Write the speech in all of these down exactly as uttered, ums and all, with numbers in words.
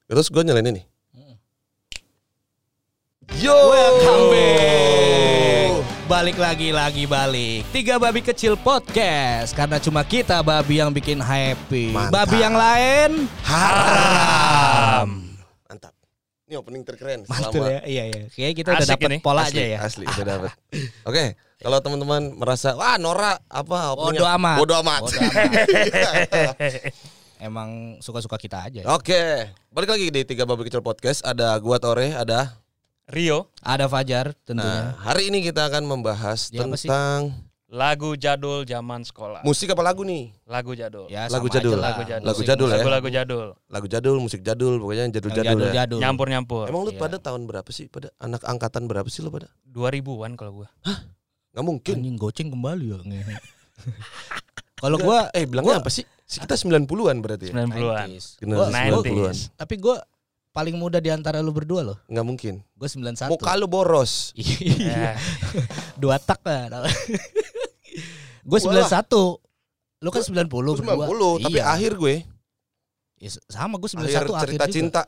Terus gue nyalain ini. Yo, welcome back. Balik lagi, lagi balik. Tiga Babi Kecil Podcast. Karena cuma kita babi yang bikin happy. Mantap. Babi yang lain haram. Mantap. Ini opening terkeren. Mantul ya, iya iya. Kayaknya kita udah Asik dapet ini. pola Asli, aja ya. Asli, udah dapet. Oke, kalau teman-teman merasa wah Nora apa Bodo amat. Bodo amat. Bodo amat. Emang suka-suka kita aja. Ya? Oke, balik lagi di Tiga Babi Kecil Podcast. Ada gua Tore, ada Rio, Ada Fajar tentunya. Nah, hari ini kita akan membahas Ya, apa sih? tentang lagu jadul zaman sekolah. musik apa lagu nih? Lagu jadul. Ya, lagu sama jadul. aja lah. Lagu jadul. Lagu jadul ya. Lagu-lagu jadul. Lagu jadul, musik jadul, pokoknya yang Yang jadul-jadul ya. jadul-jadul. Nyampur-nyampur. Emang lu Iya. pada tahun berapa sih? Pada anak angkatan berapa sih lu pada? dua ribuan kalau gua. Gak mungkin. Anjing goceng kembali ya. Kalau gua eh bilangnya gua- apa sih? Kita sembilan puluhan berarti ya? sembilan puluhan. nineties. Generasi Gua- sembilan puluhan. Tapi gue paling muda di antara lu berdua loh. Gak mungkin. Gue sembilan puluh satu. Muka lu boros. Iya. Eh, Dua tak lah. Gue sembilan puluh satu. Lu kan sembilan puluh Lu sembilan berdua. puluh, tapi Iya. akhir gue. Ya, sama gue sembilan puluh Akhir satu akhir cerita juga. cinta.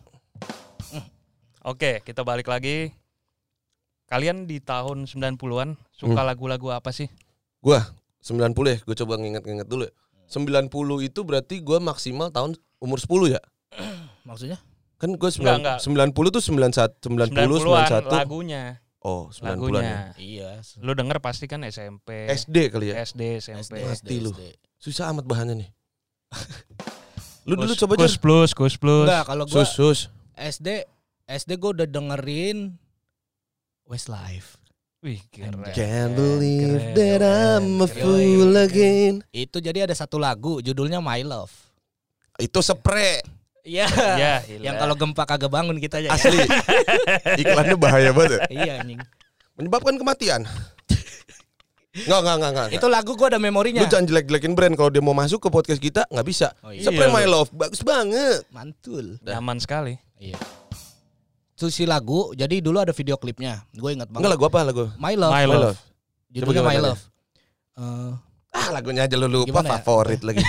Oke, kita balik lagi. Kalian di tahun sembilan puluhan suka Hmm. lagu-lagu apa sih? Gua sembilan puluh ya, gue coba nginget-nginget dulu ya. sembilan puluh itu berarti gue maksimal tahun umur sepuluh ya. Maksudnya? Kan gue Enggak, enggak. sembilan puluh tuh sembilan puluh satu, sembilan puluh, sembilan puluh satu. lagunya. Oh, sembilan puluhan ya. Lagunya. Iya. Lu denger pasti kan S M P, S D kali ya. S D, S M P. Mati lu. Susah amat bahannya nih. Lu dulu Kus- coba Kus aja. plus, kus plus. Enggak, kalau gue Sus, sus. S D S D gue udah dengerin Westlife. Wih, keren. Can't believe Keren, that I'm a keren, fool keren. again. Itu jadi ada satu lagu judulnya My Love. Itu spray. Iya. Ya, Yang kalau gempa kagak bangun kita aja. Asli. Iklannya bahaya banget ya. Iya anjing. Menyebabkan kematian. Enggak, enggak, enggak, enggak. Itu lagu gue ada memorinya. Lu jangan jelek-jelekin brand. Kalau dia mau masuk ke podcast kita nggak bisa. Oh, iya. Spray Iya, My lu. Love bagus banget. Mantul. nyaman sekali. Iya. Itu si lagu, jadi dulu ada video klipnya. Gue ingat banget. Enggak lagu apa lagu? My Love. My Love. Judulnya Coba My gimana Love. Eh, Ah lagunya aja lu lupa. Gimana ya? Favorit lagi.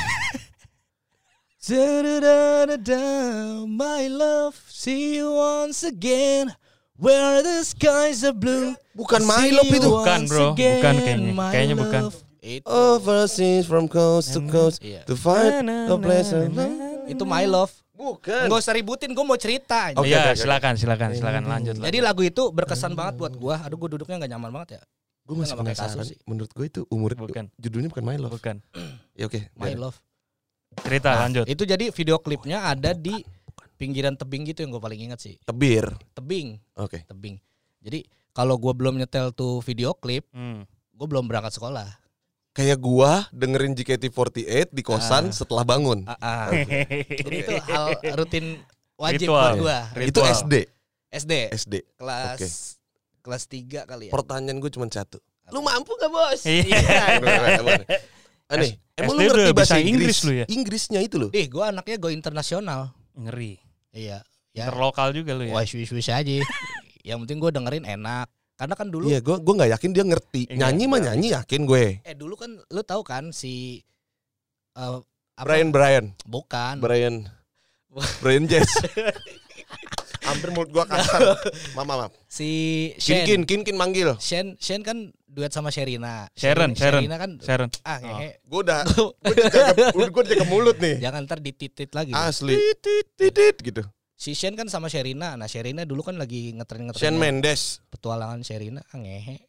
Da-da-da-da-da, my love, see you once again. Where the skies are blue. Bukan My See Love you itu. Bukan, bro. once again, Bukan kayaknya. my Kayaknya bukan. love. Itu, Overseas from coast to coast Iya. to find a place. itu My Love. Bukan. Nggak usah ributin, gue mau cerita. Oke, Iya, oke, oke. silakan, silakan, silakan lanjut. Jadi lagu itu berkesan banget buat gue. Aduh, gue duduknya nggak nyaman banget ya. Gue masih Nggak pakai penasaran. kasur sih. Menurut gue itu umur Bukan. judulnya bukan My Love. bukan. Ya oke. My biarin. Love. Cerita Nah, lanjut. Itu jadi video klipnya ada di pinggiran tebing gitu yang gue paling ingat sih. Tebir. Tebing, Oke. tebing. Jadi kalau gue belum nyetel tuh video klip, Hmm. gue belum berangkat sekolah. Kayak gua dengerin J K T empat delapan di kosan Ah. setelah bangun. Ah, ah. Jadi itu hal rutin wajib Ritual. buat gue. Itu Ritual. S D. S D S D. kelas Oke. kelas tiga kali ya. Pertanyaan gue cuma satu. Lu mampu gak bos? Iya. Aneh, emang S D lu ngerti udah bahasa bisa Inggris? Inggris lu ya? Inggrisnya itu loh. Ih, gue anaknya go internasional. Ngeri. Iya. Ya. Terlokal juga lu ya. Wah, wish-wish aja. Yang penting gue dengerin enak. Karena kan dulu Iya, gue gue nggak yakin dia ngerti. Iya, Nyanyi mah iya. nyanyi yakin gue. eh dulu kan lu tahu kan si eh, apa? Brian Brian Bukan. Brian Brian Jazz. Hampir mulut gua kasar. Maaf maaf. Si Kin Shen. kin kin kin manggil. Shen Shen kan duet sama Sherina. Sharon, Sharon. Sherina kan Sharon. ah ngehe. Gue udah gue dijaga gue dijaga mulut nih. Jangan ntar dititit lagi. Asli. Tit tit tit gitu. Si Shen kan sama Sherina. Nah, Sherina dulu kan lagi ngetren-ngetren Shawn Mendes. petualangan Sherina. Ah, ngehe.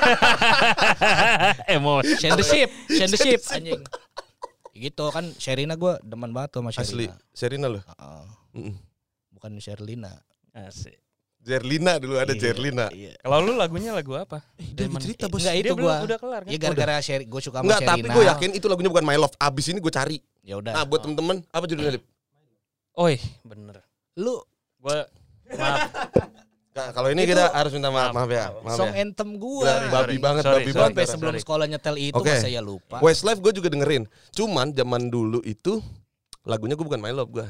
Emosi. Shen the Ship, Shen the Ship anjing. Gitu kan Sherina gue demen banget tuh sama Asli. Sherina. Sherina loh. Heeh. Mm-mm. Bukan Sherlina. Asik. Jerlina dulu ada Iya, Jerlina. Iya. Kalau lu lagunya lagu apa? Dia Zaman- cerita bos. Enggak Dia itu belum gua. udah kelar kan? Ya gara-gara Sher- gue suka sama Enggak, Sherina. tapi gue yakin itu lagunya bukan My Love. Abis ini gue cari. Ya udah. Nah, buat temen-temen, apa judulnya, Lip? Oi, bener. Lu Gua maaf. Nah, kalau ini Itu- kita harus minta maaf, maaf ya. Maaf song ya. anthem gue. Gila, babi banget, Sorry, babi sorry, banget. Sampai sorry. sebelum sekolah nyetel itu Oke. masa ya lupa. Westlife gue juga dengerin. Cuman zaman dulu itu lagunya gue bukan My Love gue.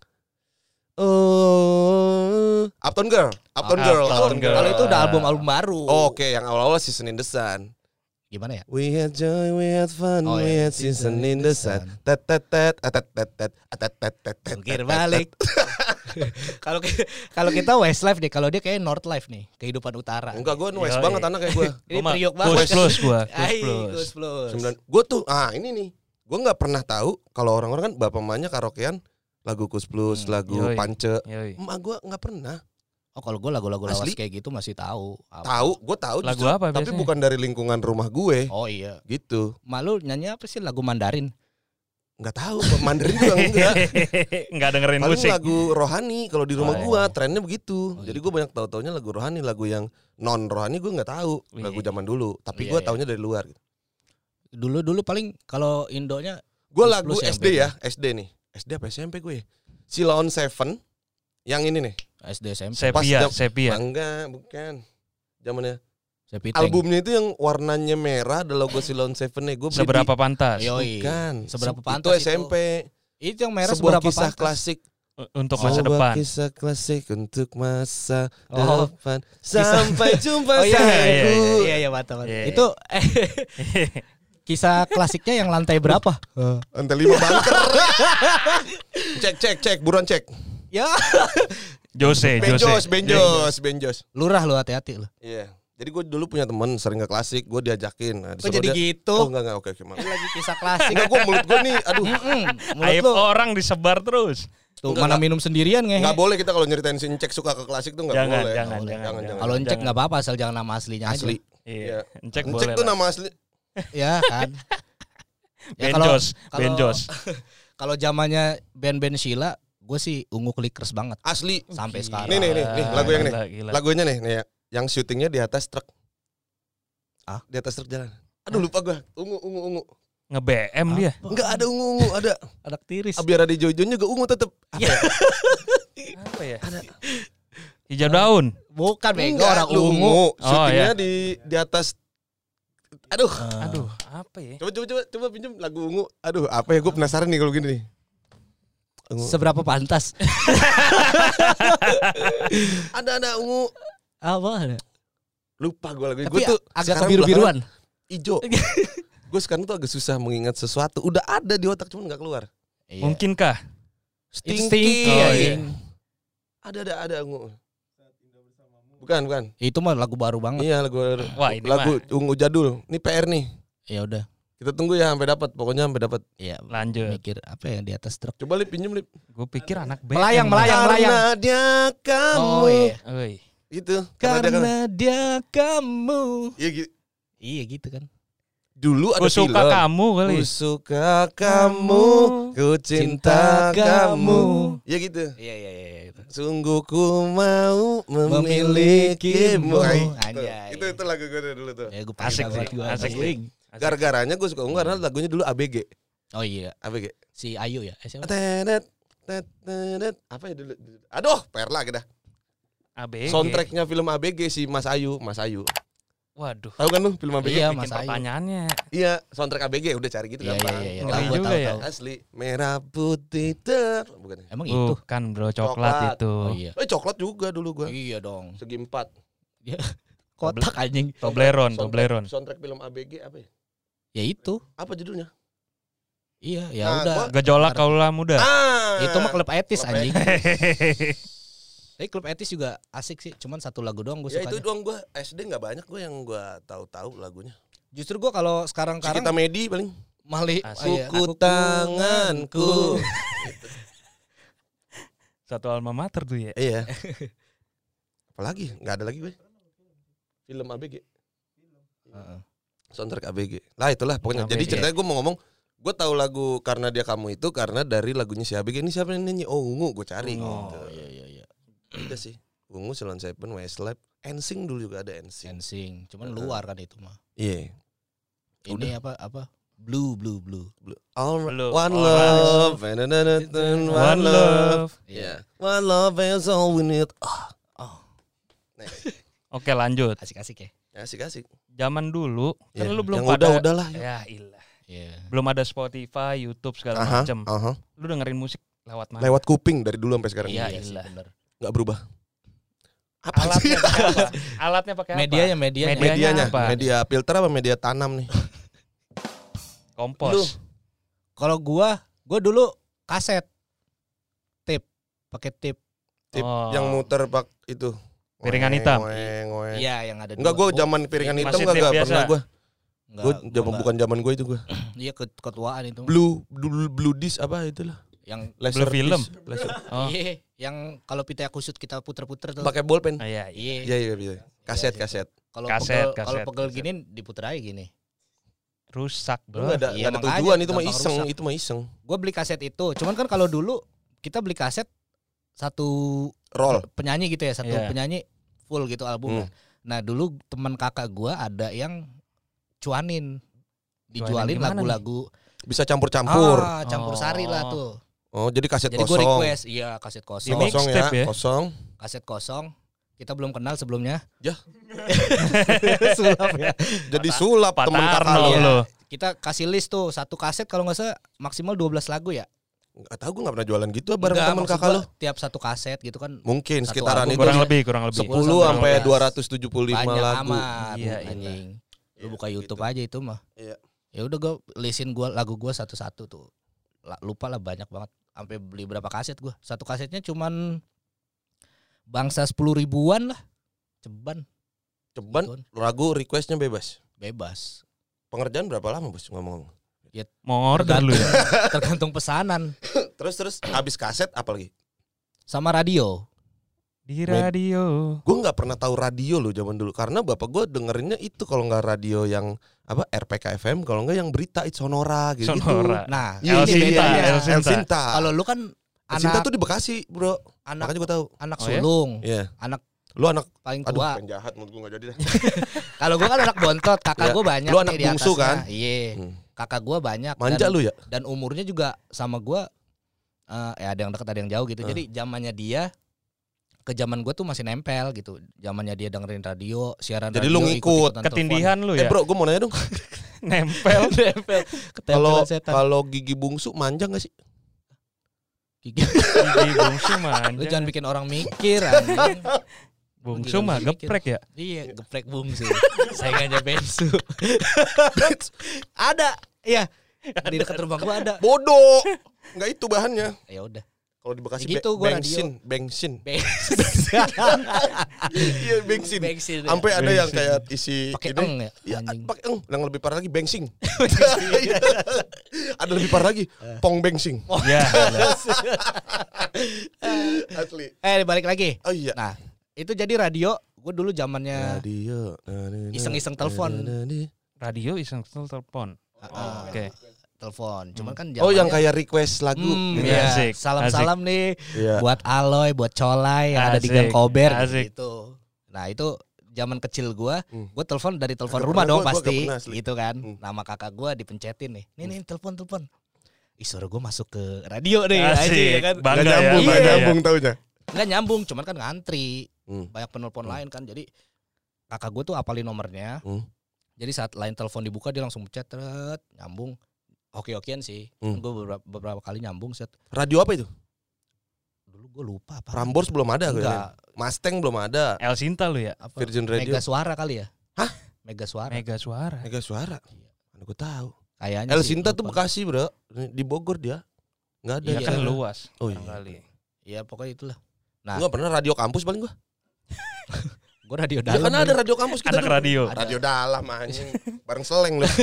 Oh, Uptown Girl, Uptown Ah, Girl, Uptown Uptown Girl. Kalau itu udah album-album baru. Oh, Oke, yang awal-awal Season in the Sun. Gimana ya? We had joy, we had fun, Oh, we iya. had season in the sun. Tet tet tet, tet tet tet, tet tet tet tet. Jungkir balik. Kalau ki- kalau kita Westlife nih, kalau dia kayak Northlife nih, kehidupan utara. Enggak, gue West Yoi. banget anak kayak gue. Ini Gua mah priok Kus banget. plus gua, kus Ai, plus. Kus plus. Sembilan. Gue tuh, ah ini nih. Gue nggak pernah tahu kalau orang-orang kan bapak mamanya karaokean lagu Kus Plus, Hmm, lagu yoi. Pance. Yoi. Emak gue nggak pernah. Oh, kalau gue lagu-lagu lawas Asli? kayak gitu masih tahu. Apa? Tahu, gue tahu. Lagu justru, apa Tapi biasanya? bukan dari lingkungan rumah gue. Oh iya. Gitu. Malu nyanyi apa sih lagu Mandarin? Nggak tahu. Mandarin juga enggak. Enggak dengerin Paling musik. lagu rohani kalau di rumah Oh. gua trennya begitu. Oh, Jadi iya. gua banyak tahu-taunya lagu rohani, lagu yang non rohani gua nggak tahu. Lagu Wih. zaman dulu, tapi Iya, gua iya. taunya dari luar gitu. Dulu dulu paling kalau Indonya Gua Plus lagu plus yang S D ya, S D nih. S D apa S M P gue? Silon Seven yang ini nih. S D S M P. Pas Sepia, jam- sepia. Enggak, bukan. Zamannya Sepiteng. albumnya itu yang warnanya merah ada logo Silon Seven nih. Gua beli Seberapa di- pantas Yoi. Bukan. Seberapa Se- pantas itu S M P. Itu yang merah Sebuah seberapa kisah pantas? klasik. untuk masa Sebuah depan. kisah klasik untuk masa Oh. depan. Sampai jumpa Oh iya iya iya sayangku. iya, iya, iya mantap, mantap. Iya, iya. Itu eh, kisah klasiknya yang lantai berapa? Lantai lima bunker. Cek cek cek buruan cek. Ya, Jose, Benjos, Jose. benjos, benjos. lurah lu hati-hati lu. Iya. Jadi gue dulu punya teman sering ke klasik, gue diajakin. Nah, Kok disuruh jadi dia- gitu? Oh enggak enggak oke oke maaf. Ini lagi kisah klasik. Enggak gue mulut gue nih, aduh. Mm-mm, mulut Aib lu orang disebar terus. tuh Enggak, mana enggak. minum sendirian ngehe. Enggak boleh kita kalau nyeritain si Cek suka ke klasik tuh enggak Jangan, boleh. jangan, Nggak boleh. jangan, jangan. Kalau ngecek Jangan. nggak apa-apa asal jangan nama aslinya aja. Asli. Iya. Iya. Cek Cek boleh. tuh lah. nama asli. Ya kan. Ya, kalau- Benjos, kalau- Benjos. Kalau zamannya band-band Sheila, gue sih ungu Clickers banget Asli. sampai Gila. sekarang. Nih, nih, nih, nih, lagu yang nih. Gila, gila. Lagunya nih, nih ya. Yang syutingnya di atas truk. Ah? Di atas truk jalan. Aduh lupa gue. Ungu ungu ungu. Nge-B M dia. Enggak ada ungu ungu, ada. Anak tiris. Ah, biar ada hijau-hijaunya juga ungu tetep. Iya. Apa ya? Hijau daun. Bukan bego Enggak, orang lu ungu. Oh, Syutingnya iya. di di atas. Aduh. Aduh, apa ya? Coba coba coba coba pinjam lagu ungu. Aduh, apa ya gue penasaran nih kalau gini nih. Ungu. Seberapa pantas? Ada ada ungu. Apa? Lupa gue lagunya. Tapi Gue tuh agak sekarang kebiru-biruan. belakangan Ijo. Gue sekarang tuh agak susah mengingat sesuatu. Udah ada di otak cuman nggak keluar. Iya. Mungkinkah? It's Stinky. Stinky, Oh, anjing. Ada ada ada ungu. Bukan bukan. Itu mah lagu baru banget. Iya lagu Wah, ini lagu mah. ungu jadul. Ini P R nih. Ya udah. Kita tunggu ya sampai dapat. Pokoknya sampai dapat. Iya. Lanjut. Mikir apa yang di atas truk? Coba lip pinjam lip. Gue pikir anak B M. Melayang, melayang. Karena dia kamu. Oh iya. Oi. Gitu. Karena dia kan. Karena dia kamu. Iya gitu. Iya gitu kan. Dulu ada Gue suka film. kamu kali. Ku suka kamu, ku cinta kamu. Ya gitu. Iya iya iya. Itu. Sungguh ku mau memilikimu. Ah, itu. Anjay. Itu itu lagu gue dulu tuh. Ya, gue Asik sih, asik sih. Gara-garanya gue suka ungu karena lagunya dulu A B G. Oh iya. A B G. Si Ayu ya. Eh, siapa? Tenet, tet, tenet. Apa ya dulu? Aduh, per lagi dah. A B G. Soundtracknya film A B G si Mas Ayu, Mas Ayu. Waduh. Tahu kan lu film A B G? Iya, Bikin Mas Ayu. pertanyaannya. Iya, soundtrack A B G udah cari gitu Iya iya gampang. iya. iya. Ngeri Tahu, gua juga tahu, ya. tahu. Asli merah putih ter bukan ya? Emang itu? Bukan bro, coklat, Coklat. itu. Oh iya. Eh coklat juga dulu gua. Iya dong. Segi empat. Kotak anjing. Toblerone, Soundtrack- Toblerone. Soundtrack film A B G apa ya? Ya itu. Apa judulnya? Iya, ya Nah, udah. gua- Gejolak kaulah muda. Ah. Itu mah klub etis Klub anjing. Hehehe. Tapi klub etis juga asik sih. Cuman satu lagu doang gue Ya suka. itu doang gua S D enggak banyak gua yang gua tahu-tahu lagunya. Justru gue kalau sekarang-sekarang Kita Medi paling. Mali Asik. iya, Kuku tanganku. Satu alma mater tuh ya. Iya. Apalagi? Enggak ada lagi gue. Film A B G. Heeh. Soundtrack A B G. Lah itulah pokoknya. A B G. Jadi ceritanya gue mau ngomong, gue tahu lagu Karena Dia Kamu itu karena dari lagunya si A B G. Ini siapa yang nyanyi? Oh Ungu, gue cari. Ungu. Gitu. Oh iya iya iya. Udah sih. Ungu, Silon Seven, Westlife, N Sync dulu juga ada N Sync. Dancing. Cuman Heeh. luar kan itu mah. Iya. Ini apa apa? Blue blue blue. Blue. All Blue. one All love, and one One love. love. Yeah. One love is all we need. Ah, Oh, Oke lanjut. asik-asik ya. asik-asik. Zaman dulu kan Iya. lu belum Yang pada. udah udahlah. Ya. Ya ilah. Iya. Belum ada Spotify, YouTube segala Aha, macam. aha. Lu dengerin musik lewat mana? Lewat kuping dari dulu sampai sekarang. Iya, Iya sih ilah. bener. Nggak berubah. Apa sih? Alatnya pakai apa? Alatnya pakai apa? Medianya medianya. Media- Medianya, apa? media filter apa media tanam nih? Kompos. Lu. Kalau gua, gua dulu kaset. Tip, pakai tip. Tip Oh. yang muter pak itu. Piringan Ngoeng, hitam. ngoeng, ngoeng. Iya yang ada. Enggak, gue dua. zaman piringan Masih hitam tip enggak enggak biasa. pernah gue. Enggak, Gue gua zaman enggak. bukan zaman gue itu gue. Iya ke- ketuaan itu. Blue blue blue disc apa itulah. Yang Laser film. disc, laser. Oh. iya, yang kalau pita kusut kita puter-puter tuh. Pakai bolpen. Ah, iya, iya. Iya. Iya iya iya. Kaset Iya, kaset. Kalau Kaset, pegel kalau kaset, pegel kaset. gini diputer aja gini. Rusak, Lu bro. enggak ada Iya, enggak ada makanya tujuan itu mah gampang iseng, rusak. itu mah iseng. Gue beli kaset itu. Cuman kan kalau dulu kita beli kaset satu Roll. penyanyi gitu ya, satu Iya. penyanyi full gitu albumnya. Hmm. Nah dulu teman kakak gua ada yang cuanin, dijualin gimana nih? lagu Bisa campur-campur. ah, campur sari lah Oh. tuh. Oh, jadi kaset Jadi gue kosong. request, iya kaset Di kosong, mix- Kosong ya, Mixtape ya? kosong. kaset kosong. Kita belum kenal sebelumnya. Ya. Sulap ya. Jadi sulap Pak temen kakak Tarno lo. lo. Kita kasih list tuh satu kaset kalau nggak salah maksimal dua belas lagu ya. Enggak tahu gue enggak pernah jualan gitu bareng Enggak, temen maksud kakak gua lo. Tiap satu kaset gitu kan Mungkin Satu sekitaran album. itu Kurang lebih, kurang lebih. sepuluh Kurang sampai lebih. dua ratus tujuh puluh lima banyak lagu. amat. Iya, iya. anjing. Lu Iya, buka YouTube gitu. aja itu mah. Iya. Ya udah gue listin gua lagu gua satu-satu tuh. La- lupa lah banyak banget. Sampai beli berapa kaset gua. Satu kasetnya cuman bangsa sepuluh ribuan lah. Ceban. Ceban Gituan. lagu requestnya bebas. Bebas. Pengerjaan berapa lama bos ngomong? Mau order lu ya? Tergantung pesanan. Terus terus habis kaset apa lagi? Sama radio. Di radio. Gue nggak pernah tahu radio lo zaman dulu karena bapak gue dengerinnya itu kalau nggak radio yang apa R P K F M, kalau nggak yang berita itu Sonora gitu. Sonora. Nah, Iya, El ini Sinta, bedanya. El El Sinta. Sinta. Kalau lu kan El Sinta anak tuh di Bekasi bro. anak Makanya gue tahu. anak Oh ya? sulung, Iya. anak Lu anak paling aduh tua. penjahat menurut gue nggak jadi dah. Kalau gua kan anak bontot, kakak Ya. gua banyak Lu nih anak di bungsu atasnya. kan? Iya. Hmm. Kakak gua banyak Manja dan, lu ya? dan umurnya juga sama gua eh ya ada yang dekat ada yang jauh gitu. Eh. Jadi zamannya dia ke zaman gua tuh masih nempel gitu. Zamannya dia dengerin radio, siaran Jadi radio. lu ngikut. ikut-ikutan Ketindihan lu Eh ya? bro, gue mau nanya dong. Nempel. telepon. Nempel. Kalau Ketempelan setan. kalau gigi bungsu manja nggak sih? Gigi. Gigi bungsu Lu manja. jangan bikin orang mikir anjing. Bungsu mah Mikir. geprek ya? Iya, geprek bungsu. Saingannya bensu. Ada. Iya. Di dekat rumah gua ada. Bodoh. Nggak itu bahannya. Ya udah. Kalau di Bekasi Ya gitu, be- gua bensin, bensin. Bensin. Iya bensin. Bensin. ya. Sampai ada yang Bensin. kayak isi Pakai ini. eng ya. Ya, Anjing. pakai eng. Yang lebih parah lagi bengsing. Ada lebih parah lagi, pong bengsing. Ya. Asli. Eh balik lagi. Oh iya. Nah, itu jadi radio. Gue dulu zamannya Radio. iseng-iseng telepon. Radio iseng telepon. uh, Oke. telepon. Cuman kan Oh yang zamannya- kayak request lagu. Hmm, Iya, iya. asik, Salam-salam nih Iya. buat Aloy, buat Colai yang ada di Asik, Gang Kober asik. gitu. Nah, itu zaman kecil gua, Hmm. gua telepon dari telepon Agak rumah pernah dong gua- gua pasti, agak pernah asli. gitu kan. Hmm. Nama kakak gua dipencetin nih. Nih nih telepon telepon. Ih, suara gua masuk ke radio nih, Asik, anjing, ya kan. bangga Nggak ya. nyambung, nggak Iya. nyambung taunya. Nggak nyambung, cuman kan ngantri. Hmm. Banyak penelpon Hmm. lain kan. Jadi kakak gua tuh apalin nomornya. Hmm. Jadi saat line telepon dibuka dia langsung pencet, tret, nyambung. Oke-okean sih. Hmm. Gue beberapa, beberapa kali nyambung set. Radio apa itu? Dulu gue lupa apa. Prambors belum ada gue. Enggak. Mustang belum ada. El Sinta lu ya? Apa? Virgin Radio. Mega Suara kali ya? Hah? Mega Suara. Mega suara. Mega Suara. Iya. Mana gue tahu. Kayaknya El sih, Sinta tuh lupa. Bekasi bro. Di Bogor dia. Nggak ada. Iya Iya. kan luas. Oh iya. Barangkali. Iya pokoknya itulah. Nah, Gue pernah radio kampus paling gue. gue radio Ya dalam. kan ada radio kampus kita. Anak dulu. radio. Radio dalam anjing. Bareng seleng lu.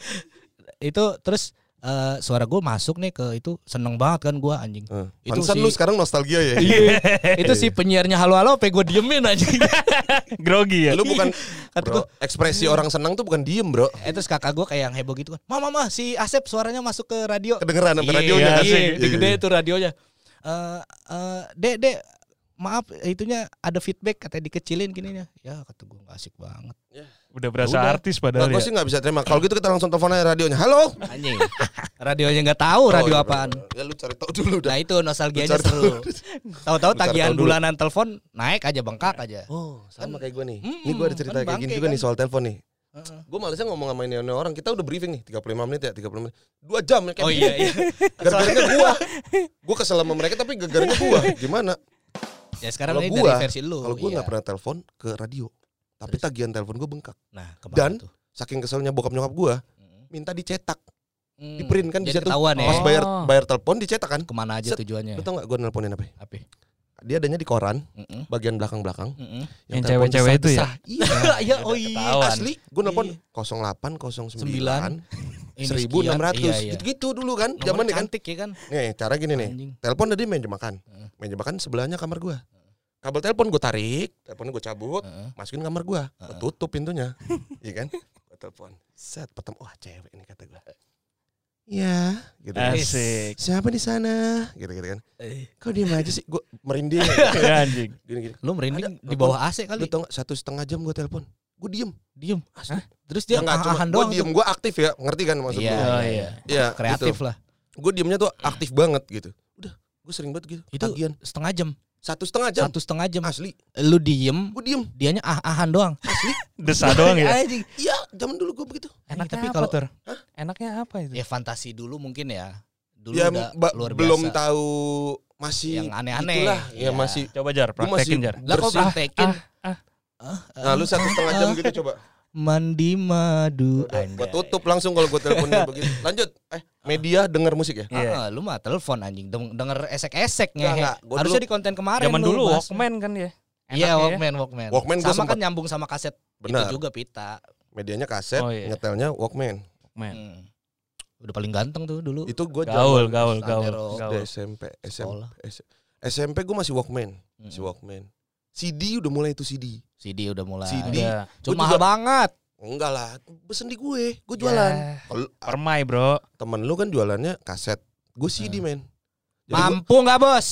Itu terus eh, suara gue masuk nih ke itu seneng banget kan gue anjing. Eh, Itu Pantesan si- lu sekarang nostalgia ya. Iya. Itu si penyiarnya halo-halo apa gue diemin anjing. Grogi ya? Lu bukan Kata bro, ekspresi orang senang tuh bukan diem bro. Eh terus kakak gue kayak yang heboh gitu kan. Mama mama si Asep suaranya masuk ke radio. Kedengeran sampai Iya, radionya kan. Iya, Iya, gede iya. itu radionya. Eh eh dek dek maaf itunya ada feedback katanya dikecilin gininya. Ya kata gue nggak asik banget. Udah berasa Udah. artis Nah, padahal gue ya. sih nggak bisa terima. Kalau gitu kita langsung telepon aja radionya. Halo. Anjing. Radionya nggak tahu radio Oh, iya, apaan. bener. Ya lu cari tahu dulu dah. Nah itu nostalgianya Lu cari seru. Tahu-tahu Lu cari tagihan tahu dulu. bulanan telepon naik aja bengkak aja. Oh, sama kayak gue nih. Mm-mm, Ini gue ada cerita kan kayak gini bangke juga kan. nih soal telepon nih. Heeh. Gue malesnya ngomong sama ini orang. Kita udah briefing nih tiga puluh lima menit ya, tiga puluh menit. dua jam ya kayak Oh iya iya. gara-garanya gua. Gua kesel sama mereka tapi gara-garanya gua. Gimana? Ya sekarang Kalau ini gua- dari versi lu. Kalau gua iya. nggak pernah telepon ke radio. Tapi Terus? tagihan telepon gua bengkak. Nah, kemana Dan tuh? Saking keselnya bokap nyokap gua, Hmm. minta dicetak, Hmm. di print kan di Jadi situ. ketahuan ya. Pas bayar Oh. bayar telepon dicetak kan. Kemana aja Set. tujuannya? Lu tau gak gue nelponin apa? Apa? dia adanya di koran, Mm-mm. bagian belakang-belakang. Mm-mm. Yang telepon cewek-cewek itu ya? desah-desah. Iya. Iya, Udah oh iya. ketahuan. Asli, gue nelfon Iya. nol delapan nol sembilan Sembilan. Ini seribu enam ratus sekian. Iya, iya. gitu-gitu dulu kan, Nomornya zaman kan. cantik ya kan. Nih, cara gini nih. Anjing. Telepon tadi meja makan. Heeh. Meja makan sebelahnya kamar gua. Kabel telepon gue tarik, teleponnya gue cabut, Heeh. masukin kamar gua, gua Heeh. tutup pintunya. Iya kan? Gua telepon. Set, pertama, wah cewek ini kata gua. Iya, gitu kan. Asik. Siapa di sana? Gitu-gitu kan. Eh. Kok diem aja sih? Gue merinding. Ya anjing. Gini-gini. Lu merinding Ada, di bawah A C Lu kali. tau gak, satu setengah jam gue telepon. Gue diem. Diem. Asli. Terus dia Nggak, cuma ahan gue doang. diem, tuh. gue aktif ya. Ngerti kan maksud Iya, gue? Oh, iya, iya. iya. Iya, Kreatif lah. Gue diemnya tuh aktif banget gitu. Udah, gue sering banget gitu. Itu Ketagihan. setengah jam. Satu setengah jam. Satu setengah jam. Asli. Lu diem, Gue diem. dianya ah-ahan doang. Desah doang ya. Anjing. Iya, zaman dulu gue begitu. Enaknya Tapi apa kalau- tuh? Enaknya apa itu? Ya fantasi dulu mungkin ya. Dulu Ya udah ba- luar biasa. belum tahu masih Yang aneh-aneh. itulah, ya Iya. masih. Coba Jar, Gua masih praktekin Jar. Lah kok bersih. praktekin? Ah, Ah, Nah, lu satu setengah jam gitu coba. Mandi madu. Gue tutup langsung kalau gue teleponnya begitu. Lanjut. Eh, media denger musik ya? Iya. Ah, lu mah telepon anjing, Deng- denger esek-esek Enggak, ngehe. enggak. Gua Harusnya dulu- di konten kemarin Zaman lu dulu bahas. Walkman kan ya. Iya, Enaknya ya. Walkman, Walkman. Walkman gua sama sempet- kan nyambung sama kaset. Benar. Itu juga pita. Medianya kaset, Oh, iya. nyetelnya Walkman. Walkman. Hmm. Udah paling ganteng tuh dulu. Itu gue Gaul, gaul, gaul, Santero. gaul. S M P, S M P, Sekolah. S- S M P gue masih Walkman, masih Hmm. Walkman. C D udah mulai itu C D. C D udah mulai. C D. Ada. Cuma Gua mahal juga- banget. Enggak lah, pesen di gue, gue jualan. Ya, Kalau Permai bro. temen lu kan jualannya kaset, gue C D men. Jadi gua- Mampu nggak bos?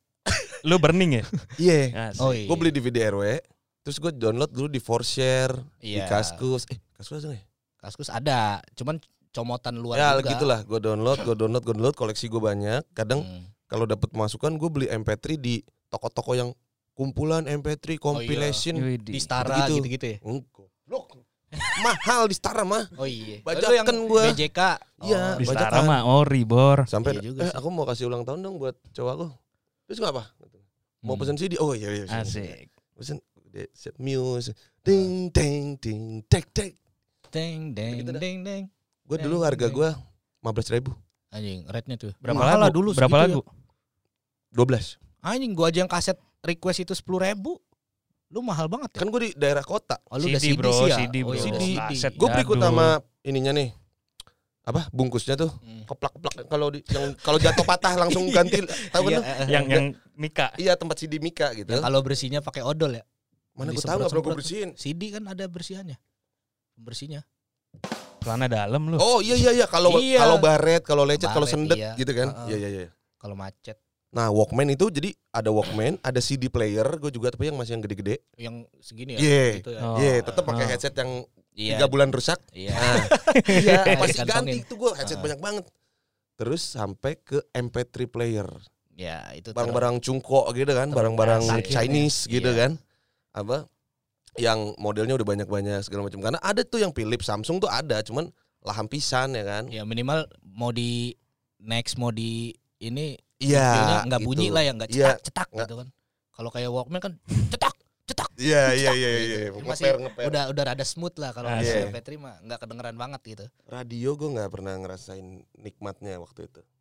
Lu burning ya? Iya, Asik. Oh iya. gue beli D V D R W, terus gue download dulu di Forshare, di Iya. Kaskus. Eh, Kaskus ada nggak ya? Kaskus ada, cuman comotan luar Ya juga. gitulah, gue download, gue download, gue download, koleksi gue banyak. Kadang Hmm. kalau dapat masukan gue beli M P tiga di toko-toko yang kumpulan M P tiga compilation. Widih. Di Stara Gitu-gitu. gitu-gitu ya. Enggak. Loh, mahal di Stara mah. Oh iya. Bajakan Lu yang gua. B J K. Iya, Di Oh, bajakan. Stara mah ori bor. Sampai Iya juga eh sih. aku mau kasih ulang tahun dong buat cowok aku. Terus nggak apa? Mau Hmm. pesen C D? Oh iya iya. iya. Asik. Pesen de- set muse. Ding ding ding tek tek. Deng deng Gitu dah. deng deng. Gue Deng, dulu harga deng. gue lima belas ribu. Anjing, rate-nya tuh. Berapa Mahal lagu? lah dulu Berapa segitu lagu? dua belas. Ya. Anjing, gua aja yang kaset request itu sepuluh ribu. Lu mahal banget ya? Kan gue di daerah kota. Oh, lu C D, udah C D bro, sih ya? C D, Oh, bro. iya, udah C D. Kaset. Gue berikut Jadul. sama ininya nih. Apa bungkusnya tuh Hmm. keplak-keplak kalau di yang kalau jatuh patah langsung ganti tahu kan Iya, tuh? eh, eh. Yang yang Mika. Iya tempat C D Mika gitu. Ya, kalau bersihnya pakai odol ya. Mana gue tahu nggak perlu gue bersihin. C D kan ada bersihannya. Bersihnya. Celana dalam lu. Oh iya iya iya kalau Iya. kalau baret, kalau lecet, kalau Baret, sendet iya. gitu kan. Heeh. Iya iya iya. Kalau macet Nah, Walkman itu jadi ada Walkman, ada C D player, gue juga tapi yang masih yang gede-gede. yang segini ya. Iya. Gitu ya. Oh. Iya, tetap pakai Oh. headset yang Iya. tiga bulan rusak. Iya. Nah, iya, masih Dikantongin. ganti tuh gue headset Ah. banyak banget. Terus sampai ke M P tiga player, Ya, itu barang-barang cungko gitu kan, Terus barang-barang akhirnya, Chinese gitu iya. kan. Apa? Yang modelnya udah banyak-banyak segala macam. Karena ada tuh yang Philips, Samsung tuh ada, cuman laham pisan ya kan. ya minimal mau di next mau di ini Iya, videonya nggak gitu. bunyi lah ya, nggak Iya, cetak cetak nggak. gitu kan. Kalau kayak Walkman kan cetak cetak. Iya, iya, iya, iya. Ini Ngeper, masih ngeper. udah udah rada smooth lah kalau Ah, di iya. M P tiga mah nggak kedengeran banget gitu. Radio gue nggak pernah ngerasain nikmatnya waktu itu.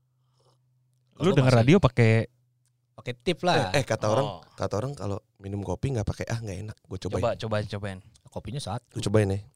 Lu Gua denger masih radio pakai pakai tip lah. Eh, eh, kata orang, Oh. kata orang kalau minum kopi nggak pakai ah nggak enak. Gue cobain. coba coba cobain. Kopinya satu. Gue cobain ya.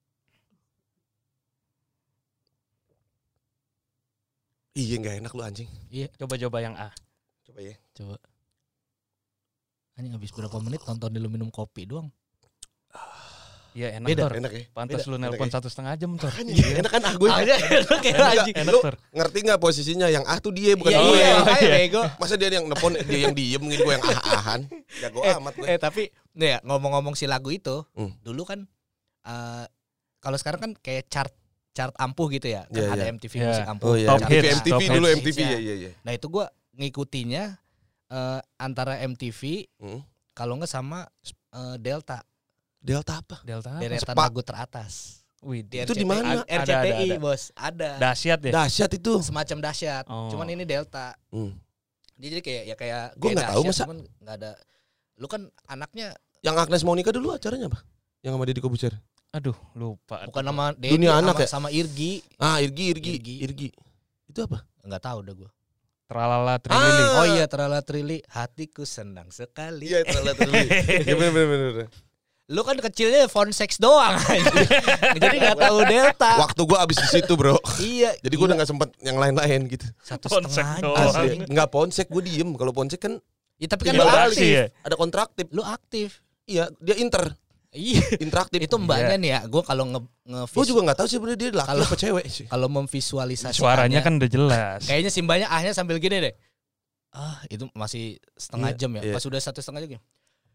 Iya nggak enak lu anjing. Iya, Coba coba yang A. Coba ya. coba. Anjing habis berapa menit nonton lu minum kopi doang. Iya enak Beda. Tor. Enak ya. Pantas Beda. lu Enak nelpon ya? satu setengah jam Tor. Makanya enak kan ah gue. Aja enak ya Enak, anjing. enak Lu Tor. ngerti nggak posisinya yang ah tuh dia bukan Iya, gue. iya, Oh, makanya iya. bego. Masa dia yang nelpon dia yang diem gitu gue yang ah-ahan. Jago Eh, amat gue. Eh tapi nih ya, ngomong-ngomong si lagu itu, Hmm. dulu kan eh kalau sekarang kan kayak chart chart ampuh gitu ya. Kan Iya, ada iya. M T V Iya. musik ampuh. Oh iya, Top chart- hits, M T V top dulu hits. M T V Iya. ya iya iya. Nah, itu gua ngikutinya eh, antara M T V Hmm. kalau nggak sama eh, Delta, Delta apa? Delta. apa? deretan Sepa- lagu teratas. Wih, Itu di mana? R C T I, Ada, ada, ada. Bos, ada. dahsyat ya. Dahsyat itu. Semacam dahsyat. Oh. Cuman ini Delta. Hmm. Dia jadi kayak ya kayak Gua kayak nggak tahu, dahsyat, masa- cuman nggak ada. Lu kan anaknya Yang Agnes Monica dulu acaranya apa? Yang sama Deddy Kobuzer. Aduh, lupa. bukan nama Dedi, Dunia sama, anak ya? sama Irgi. Ah, Irgi, Irgi, Irgi. Irgi. Itu apa? Nggak tahu udah gua. Tralala Trilili. Ah. Oh iya, Tralala Trili, hatiku senang sekali. Iya, terlalu terlalu. Iya bener bener bener. Lu kan kecilnya phone sex doang. Jadi enggak tahu delta. Waktu gua abis di situ, Bro. Iya. Jadi gua udah enggak sempet yang lain-lain gitu. satu Ponsek setengah doang. jam. Asli. Enggak ponsek, gua diem. Kalau ponsek kan Ya, tapi kan tinggal lu balik. aktif. ya. Ada kontraktif. Lu aktif. Iya, dia inter, Iya. interaktif. Itu mbaknya nih ya, gue kalau nge, nge Gua juga enggak tahu sih sebenarnya dia laki Kalau- apa cewek sih. kalau memvisualisasikannya, Suaranya kan udah jelas. kayaknya si mbaknya ahnya sambil gini deh. Ah, itu masih setengah Iya, jam ya. iya. Pas udah satu setengah jam gini.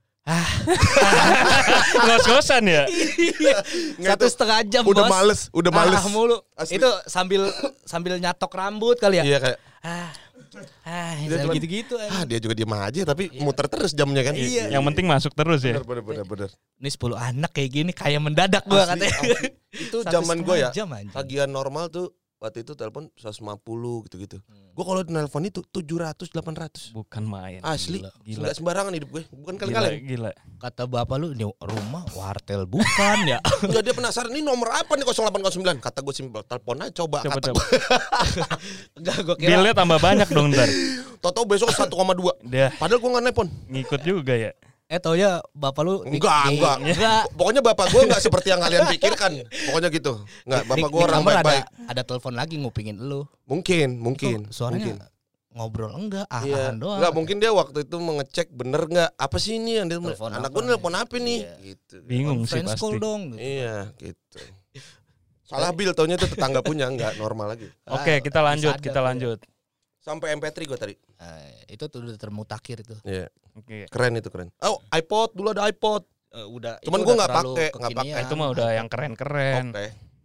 Ngos-ngosan ya. Nggak, Satu itu setengah jam udah bos. males, udah males. Ah, mulu. Asli. Itu sambil sambil nyatok rambut kali ya. Iya kayak Ah, ah, Dia sambil cuman- gitu-gitu. ah ah. dia juga diem aja tapi Iya. muter terus jamnya kan. Iya. Yang penting masuk terus ya. Bener bener bener bener. Ini sepuluh anak kayak gini kayak mendadak gua Asli, katanya. asli. Itu Satu zaman gue ya. setengah jam, anjing. Tagihan normal tuh waktu itu telepon seratus lima puluh gitu-gitu. Hmm. Gue kalau nelpon itu tujuh ratus delapan ratus. Bukan main. Asli. Gila. Gila. Enggak sembarangan hidup gue. Bukan Gila, kali-kali. gila. Kata bapak lu ini rumah wartel bukan ya? Enggak, dia penasaran ini nomor apa nih nol delapan nol sembilan. Kata gue simpel, telepon aja coba. Coba Kata coba. Enggak, gua kira Bilnya tambah banyak dong ntar. Toto besok satu koma dua. Dia Padahal gue enggak nelpon. ngikut juga ya. eh taunya bapak lu di- Enggak, di- enggak. enggak. Pokoknya bapak gue enggak seperti yang kalian pikirkan. Pokoknya gitu. Enggak, bapak Di- gue di orang kamar baik-baik. Ada, ada telepon lagi ngupingin lu. Mungkin, mungkin. Itu suaranya mungkin. ngobrol enggak, ah Iya. doang. Enggak, mungkin dia waktu itu mengecek bener enggak apa sih ini yang dia Telepon anak apa? gue nelpon apa nih Iya. gitu. Bingung sih Friends call pasti. dong. gitu. Iya, gitu. Salah bil taunya itu tetangga punya enggak normal lagi. Oke, kita lanjut, Sadar kita tuh. lanjut. Sampai M P tiga gue tadi. Eh, itu tuh udah termutakhir itu. Iya, Oke. keren itu keren. Oh, iPod dulu ada iPod. Eh, udah. Cuman itu gua udah nggak terlalu pakai, nggak kekinian. pakai. Itu mah udah yang keren-keren. Oke.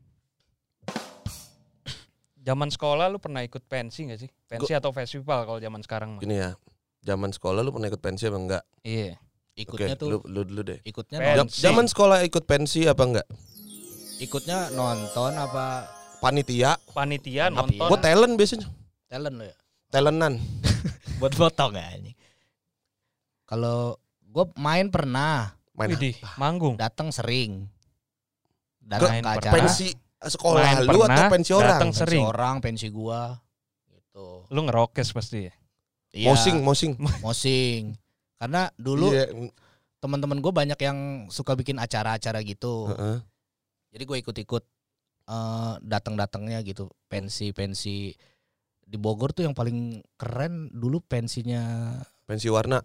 Zaman sekolah lu pernah ikut pensi gak sih? Pensi atau festival kalau zaman sekarang mah? Gini ya. Zaman sekolah lu pernah ikut pensi apa enggak? Iya. Ikutnya Oke, tuh lu, lu dulu deh. ikutnya Pensi. non, Pensi. Zaman sekolah ikut pensi apa enggak? ikutnya nonton apa Panitia. Panitia Apa- nonton. Gue talent biasanya. talent lo ya? Talentan. Buat foto enggak ini? Kalau gue main pernah, Main Widih, manggung. datang sering. Datang Main ke pernah. acara pensi sekolah Main lu pernah, atau pensi orang? datang pensi sering. orang, pensi gua gitu. Lu ngerokes pasti ya? Iya, Mosing, mosing. mosing. Karena dulu Iya. teman-teman gue banyak yang suka bikin acara-acara gitu. Heeh. Jadi gue ikut-ikut eh, datang-datangnya gitu. Pensi-pensi di Bogor tuh yang paling keren dulu pensinya Pensi warna.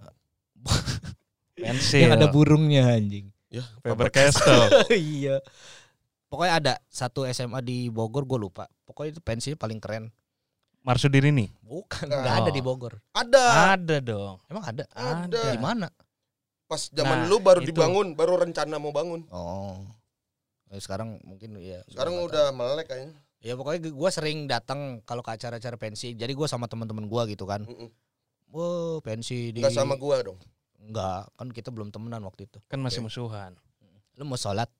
Pensil. yang ada burungnya anjing. Ya, Faber Castell. Iya. Pokoknya ada satu S M A di Bogor gue lupa. Pokoknya itu pensinya paling keren. Marsudiri nih. Bukan, Oh. nggak ada di Bogor. Ada. Ada dong. Emang ada? Ada. Di mana? Pas zaman Nah, lu baru itu. dibangun, baru rencana mau bangun. Oh. Eh, sekarang mungkin ya. Sekarang gua nggak udah melek kayaknya. tahu. Ya pokoknya gue sering datang kalau ke acara-acara pensi. Jadi gue sama teman-teman gue gitu kan. Mm-mm. Wah, pensi di Enggak sama gua dong. Enggak, kan kita belum temenan waktu itu. Kan masih Oke. musuhan. Lu mau sholat?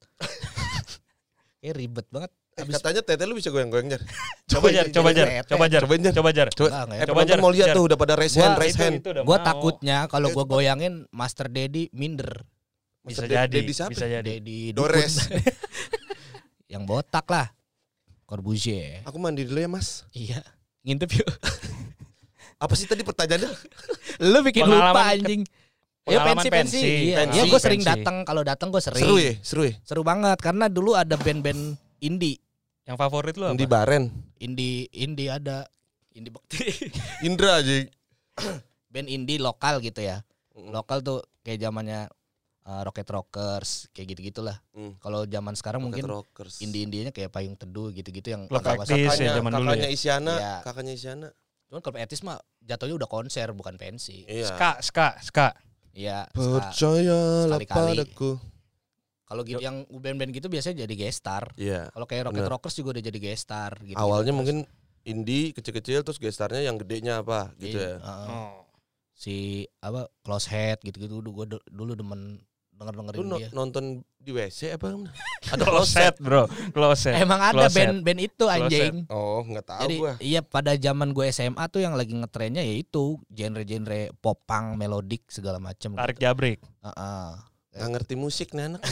Eh ribet banget. Eh, Abis- katanya tete lu bisa goyang-goyang jar. Coba jar, coba jar, Tete. coba jar, Cobain jar. coba jar. Coba. Enggak, enggak Eh ya. Coba, penonton Jar. mau lihat Jar. tuh udah pada raise Gua- hand, raise Itu- hand. itu udah Gue mau. takutnya kalau Eh, gue cepat. goyangin Master Dedi minder. Bisa Master Ded- jadi, Dedi siapa? bisa jadi. Dedi Dores. Dukun. Yang botak lah. Corbusier. Aku mandi dulu ya, Mas. Iya. Ngintip yuk. Apa sih tadi pertanyaannya? Lu bikin Pengalaman lupa ke- anjing. Ya pengalaman pensi pensi. pensi. Iya, Pensi, ya gue sering pensi. datang. Kalau datang gue sering. Seru ya, seru ya. Seru banget karena dulu ada band-band indie. Yang favorit lu apa? Di Baren. Indie indie ada. Indie Bekti. Indra aja. Band indie lokal gitu ya. Mm. Lokal tuh kayak zamannya uh, Rocket Rockers kayak gitu-gitulah. Mm. Kalau zaman sekarang Rocket mungkin Rockers. indie-indienya kayak Payung Teduh gitu-gitu yang Club agak Actis masuk. ya, Kakaknya, zaman dulu kakaknya ya. Isyana, Iya. kakaknya Isyana. Cuman kalau etis mah jatuhnya udah konser bukan pensi. Iya. Ska, ska, ska. Iya. ska. Percayalah Sekali-kali. padaku. Kalau gitu yang band-band gitu biasanya jadi guest star. Iya. Kalau kayak Rocket Bener. Rockers juga udah jadi guest star gitu. Awalnya mungkin indie kecil-kecil terus gestarnya yang gedenya apa gitu ya. Oh. Si apa Close Head gitu-gitu dulu gue dulu demen denger-dengerin Lu no- dia. nonton di W C apa? Ada closet, bro. Closet. Emang ada Closet. band-band itu anjing. Oh, nggak tahu Jadi gua. iya pada zaman gue S M A tuh yang lagi ngetrennya yaitu genre-genre pop punk, melodik segala macam. Tarik gitu. jabrik. Heeh. Nggak ngerti musik nih anak.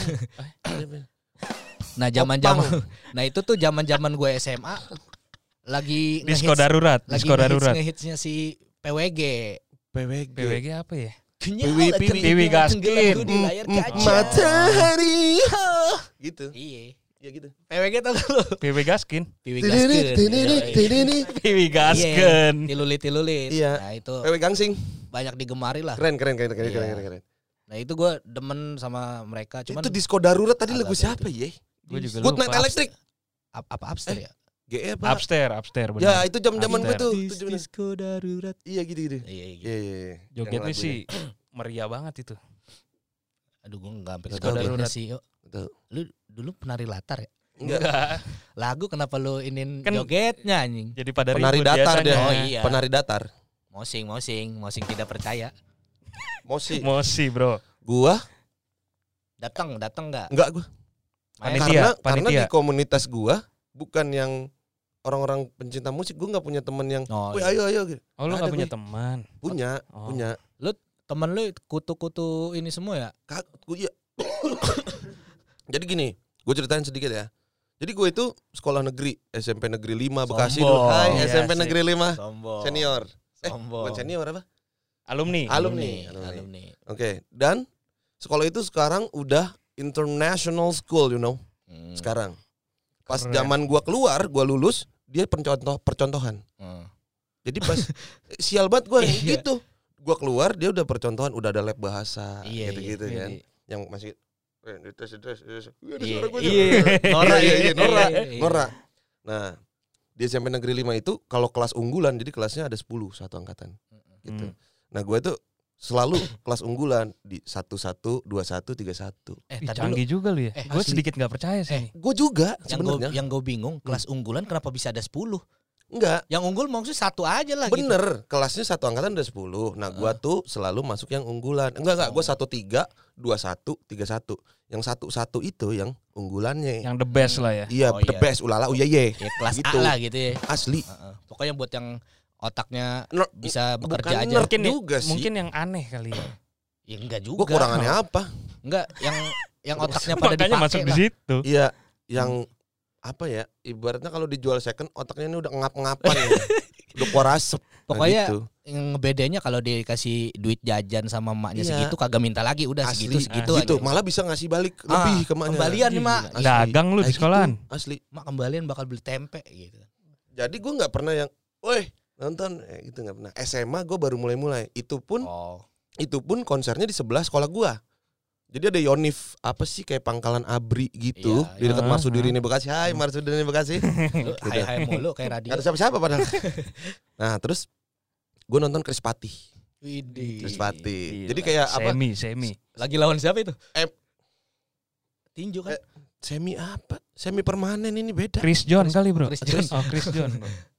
Nah zaman-zaman, nah itu tuh zaman-zaman gue S M A lagi Disco ngehits- darurat, lagi disco darurat. ngehits, ngehitsnya si P W G. P W G. P W G apa ya? Kenyal P W G Gaskin. di layar kaca. Matahari. Gitu. Iya. Ya gitu. P W G tau gak lu? P W Gaskin. P W Gaskin. P W Gaskin. Tilulit-tilulit. Iya. Nah itu P W Gangsing. banyak digemari lah. Keren keren keren keren Iya. keren keren. Nah itu gue demen sama mereka. Cuman Itu disco darurat tadi agak lagu beda. siapa ya? Gue juga Good lupa. Night Electric. Ap- apa upstairs ya? G E apa? Upstairs, upstairs bener. Ya itu jam-jaman gue Upstairs. tuh. Itu zaman- Disco darurat. Iya gitu gitu. Iya iya. Iya iya iya. Jogetnya Yang sih meriah banget itu. Aduh gue nggak sampai Nggak ke tahu jogetnya darurat. sih. Yuk. Betul. Lu dulu penari latar ya? Enggak. Lagu kenapa lu inin Kan- jogetnya anjing? Jadi pada Penari ribut datar biasanya. dia. Oh iya. Penari datar. Mosing, mosing, mosing tidak percaya. Mosi. Emosi bro. Gua Datang, datang nggak? enggak gua. Main. Panitia, Karena karena panitia. di komunitas gua bukan yang orang-orang pencinta musik, gua nggak punya temen yang, Oh, "Woi, iya. ayo ayo." gitu. Oh lu Ada gak punya gue. teman? Punya, Oh. punya. Temen lu kutu-kutu ini semua ya? Kak, gua iya. Jadi gini, gue ceritain sedikit ya. Jadi gue itu sekolah negeri, S M P Negeri lima Bekasi dulu. Sombong. Hai, Iya, S M P sih. Negeri lima Sombong. senior. Eh, Sombong. bukan senior apa? Alumni. Alumni. Alumni. Alumni. Alumni. Oke, dan sekolah itu sekarang udah international school, you know. Hmm. Sekarang. Pas Keren. zaman gua keluar, gua lulus, dia percontoh percontohan. Hmm. Jadi pas sial banget gua Iya. gitu. Gua keluar, dia udah percontohan, udah ada lab bahasa Iya, gitu-gitu iya. kan. Yang masih eh, tes tes tes. Wih, ada Iya. suara gua. Iya. Nora, iya, iya, Nora, Iya, iya. Nora. Nah, di S M P Negeri lima itu kalau kelas unggulan, jadi kelasnya ada sepuluh satu angkatan gitu. Hmm. Nah, gue tuh selalu kelas unggulan di satu satu, dua satu, tiga satu. Eh, Ih, tar dulu. canggih juga lu ya. Eh, Gue asli. sedikit gak percaya sih. nih. Gue juga Yang gue sebenarnya. yang gue bingung, kelas unggulan kenapa bisa ada sepuluh? Enggak, Yang unggul maksudnya satu aja lah gitu. bener. Kelasnya satu angkatan ada sepuluh. Nah, gue tuh selalu masuk yang unggulan. Enggak, enggak. Gue Oh. satu tiga, dua satu, tiga satu. Yang satu satu itu yang unggulannya. Yang the best lah ya. Iya, Oh, the iya. best. Ulala, uya ye. Ya kelas Gitu. A lah gitu ya. Asli. Heeh. Pokoknya buat yang otaknya Ner- bisa bekerja bukan aja. nerd Mungkin juga sih. Mungkin yang aneh kali ya. Ya enggak juga. Gue kurangannya apa? Enggak, yang yang otaknya pada Makanya dipakai masuk di lah. situ. Iya, yang apa ya? Ibaratnya kalau dijual second, otaknya ini udah ngap-ngapan. ya. Udah keluar asap. Nah, Pokoknya gitu. yang ngebedanya kalau dikasih duit jajan sama emaknya Iya. segitu kagak minta lagi, udah Asli, segitu segitu gitu. aja. Malah bisa ngasih balik Ah, lebih ke emaknya. kembalian nih, Mak. Asli. Dagang lu di Kayak sekolahan. gitu, asli. Mak kembalian bakal beli tempe gitu. Jadi gue nggak pernah yang, woi nonton, eh, gitu nggak pernah. S M A gue baru mulai-mulai. Itu pun, Oh. itu pun konsernya di sebelah sekolah gue. Jadi ada Yonif apa sih kayak Pangkalan Abri gitu Iya, di dekat iya. Marsudirini Bekasi. Hai Marsudirini Bekasi. Lu hai-hai mulu kayak radio. Gak ada siapa-siapa padahal. Nah terus gue nonton Chris Pati. Widih. Chris Pati. Gila. Jadi kayak apa? Semi, semi. Lagi lawan siapa itu? Eh. Tinju kan? Eh, Semi apa? Semi permanen ini beda. Chris John kali bro. Chris John. Oh Chris John.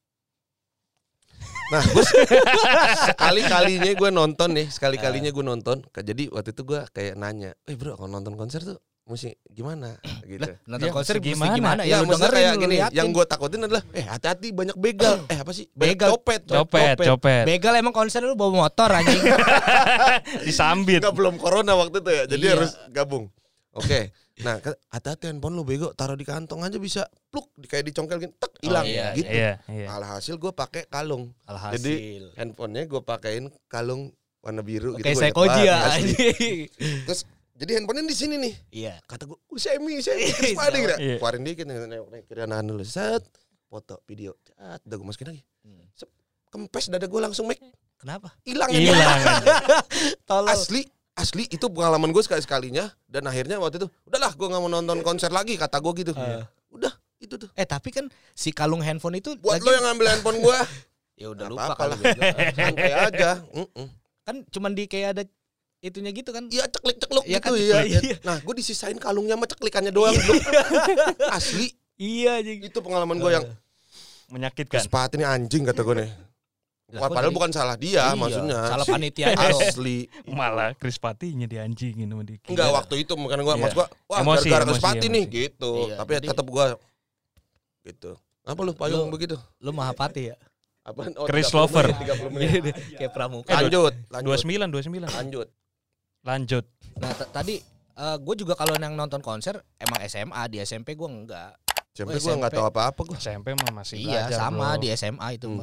Nah, gue sekali-kalinya gue nonton nih, sekali-kalinya gue nonton. Jadi waktu itu gue kayak nanya, eh bro kalau nonton konser tuh mesti gimana gitu. Nonton Ya, konser mesti gimana? gimana? gimana? Ya, Ya lu maksudnya dengerin, kayak lu gini, liatin. yang gue takutin adalah, eh hati-hati banyak begal. Eh apa sih? Banyak Begal. copet, Copet, copet. Begal emang konser lu bawa motor anjing. Disambit. Enggak, belum corona waktu itu ya, jadi Iya. harus gabung. Oke, nah ke- hati-hati handphone lu bego, taruh di kantong aja bisa pluk, di- kayak dicongkel gini, tek hilang iya, gitu. Iya, iya. Alhasil gue pakai kalung, Alhasil. Jadi, handphonenya gue pakein kalung warna biru Kayak gitu. saya gua inget koji ya. banget, asli. anjing. Terus jadi handphonenya di sini nih. Iya. Kata gue, uh, semi, semi, Chris Pati gitu. Iya. Keluarin dikit, nengok kiri kanan dulu, set, foto, video, set, udah gue masukin lagi. Hmm. Sep, kempes dada gue langsung make, Kenapa? hilang Hilang. Tolong. Asli, asli itu pengalaman gue sekali sekalinya. Dan akhirnya waktu itu, udahlah gue nggak mau nonton konser lagi, kata gue gitu. Iya. Udah, itu tuh. Eh tapi kan si kalung handphone itu Buat lagi- lo yang ngambil handphone gue, ya udah nggak lupa apa-apa kali lah. bego. santai aja. Mm-mm. Kan cuman di kayak ada itunya gitu kan. Iya ceklik-cekluk Iya gitu kan? ya. Iya. Nah gue disisain kalungnya sama ceklikannya doang. Belum. Asli, Iya anjing. itu pengalaman gue yang Menyakitkan. Chris Pati ini anjing kata gue nih. Lah, Wah, kok padahal jadi- bukan salah dia Iya, maksudnya. salah panitia aja. Asli. Malah Chris Patinya dianjingin sama Diki. Enggak waktu itu bukan gue, Iya. maksud gue, wah Emosi, gara-gara Chris emosi, Pati emosi. nih gitu. Iya, Tapi jadi- tetap gue gitu. Apa lu payung Lu- begitu? Lu Mahapati ya. Apaan? Oh, Chris tiga puluh Lover. menit, tiga puluh menit. Kayak pramuka. Lanjut, dua lanjut. puluh sembilan, dua puluh sembilan. Lanjut. Lanjut. Nah t- tadi gue juga kalau yang nonton konser emang S M A, di S M P gue enggak. Sampai Oh, gue enggak S M P. tahu apa-apa gue. S M P mah masih Iya belajar, sama bro. di S M A itu Hmm. mah.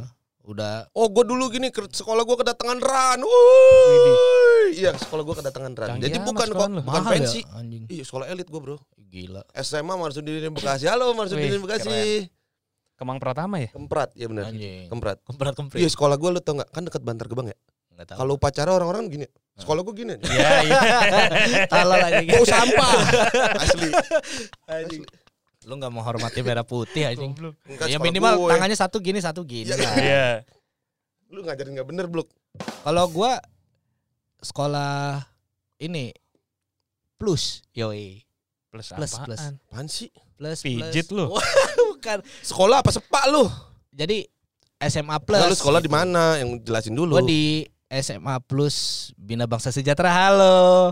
Udah. Oh, gue dulu gini ke sekolah gue kedatangan ran. Wuih. Iya, sekolah gue kedatangan ran. Canggih Jadi amat bukan sekolah kok, lu. bukan Mahal pensi. ya, anjing. Iya, sekolah elit gue, Bro. Gila. S M A Marsudin Bekasi. Halo Marsudin Wih, Bekasi. Kemang Pratama ya? Kemprat, ya benar. Anjing. Kemprat. Kemprat kemprit. Iya, sekolah gue lu tau enggak? Kan dekat Bantar Gebang ya. Enggak tahu. Kalau upacara orang-orang gini. Sekolah gue gini. Iya, iya. Tolol anjing. Bau sampah. Asli. Anjing. Lu enggak menghormati merah putih anjing. Enggak, Ya sekolah minimal gue. tangannya satu gini satu gini. Iya. lah. Iya. Lu ngajarin enggak bener, Blok. Kalau gua sekolah ini plus yoi. Plus Plus, apaan? plus. Apaan sih? Plus Pijit plus. lu. Bukan. Sekolah apa sepak lu? Jadi S M A plus. Lalu sekolah di mana? Yang jelasin dulu. Gua di S M A plus Bina Bangsa Sejahtera. Halo.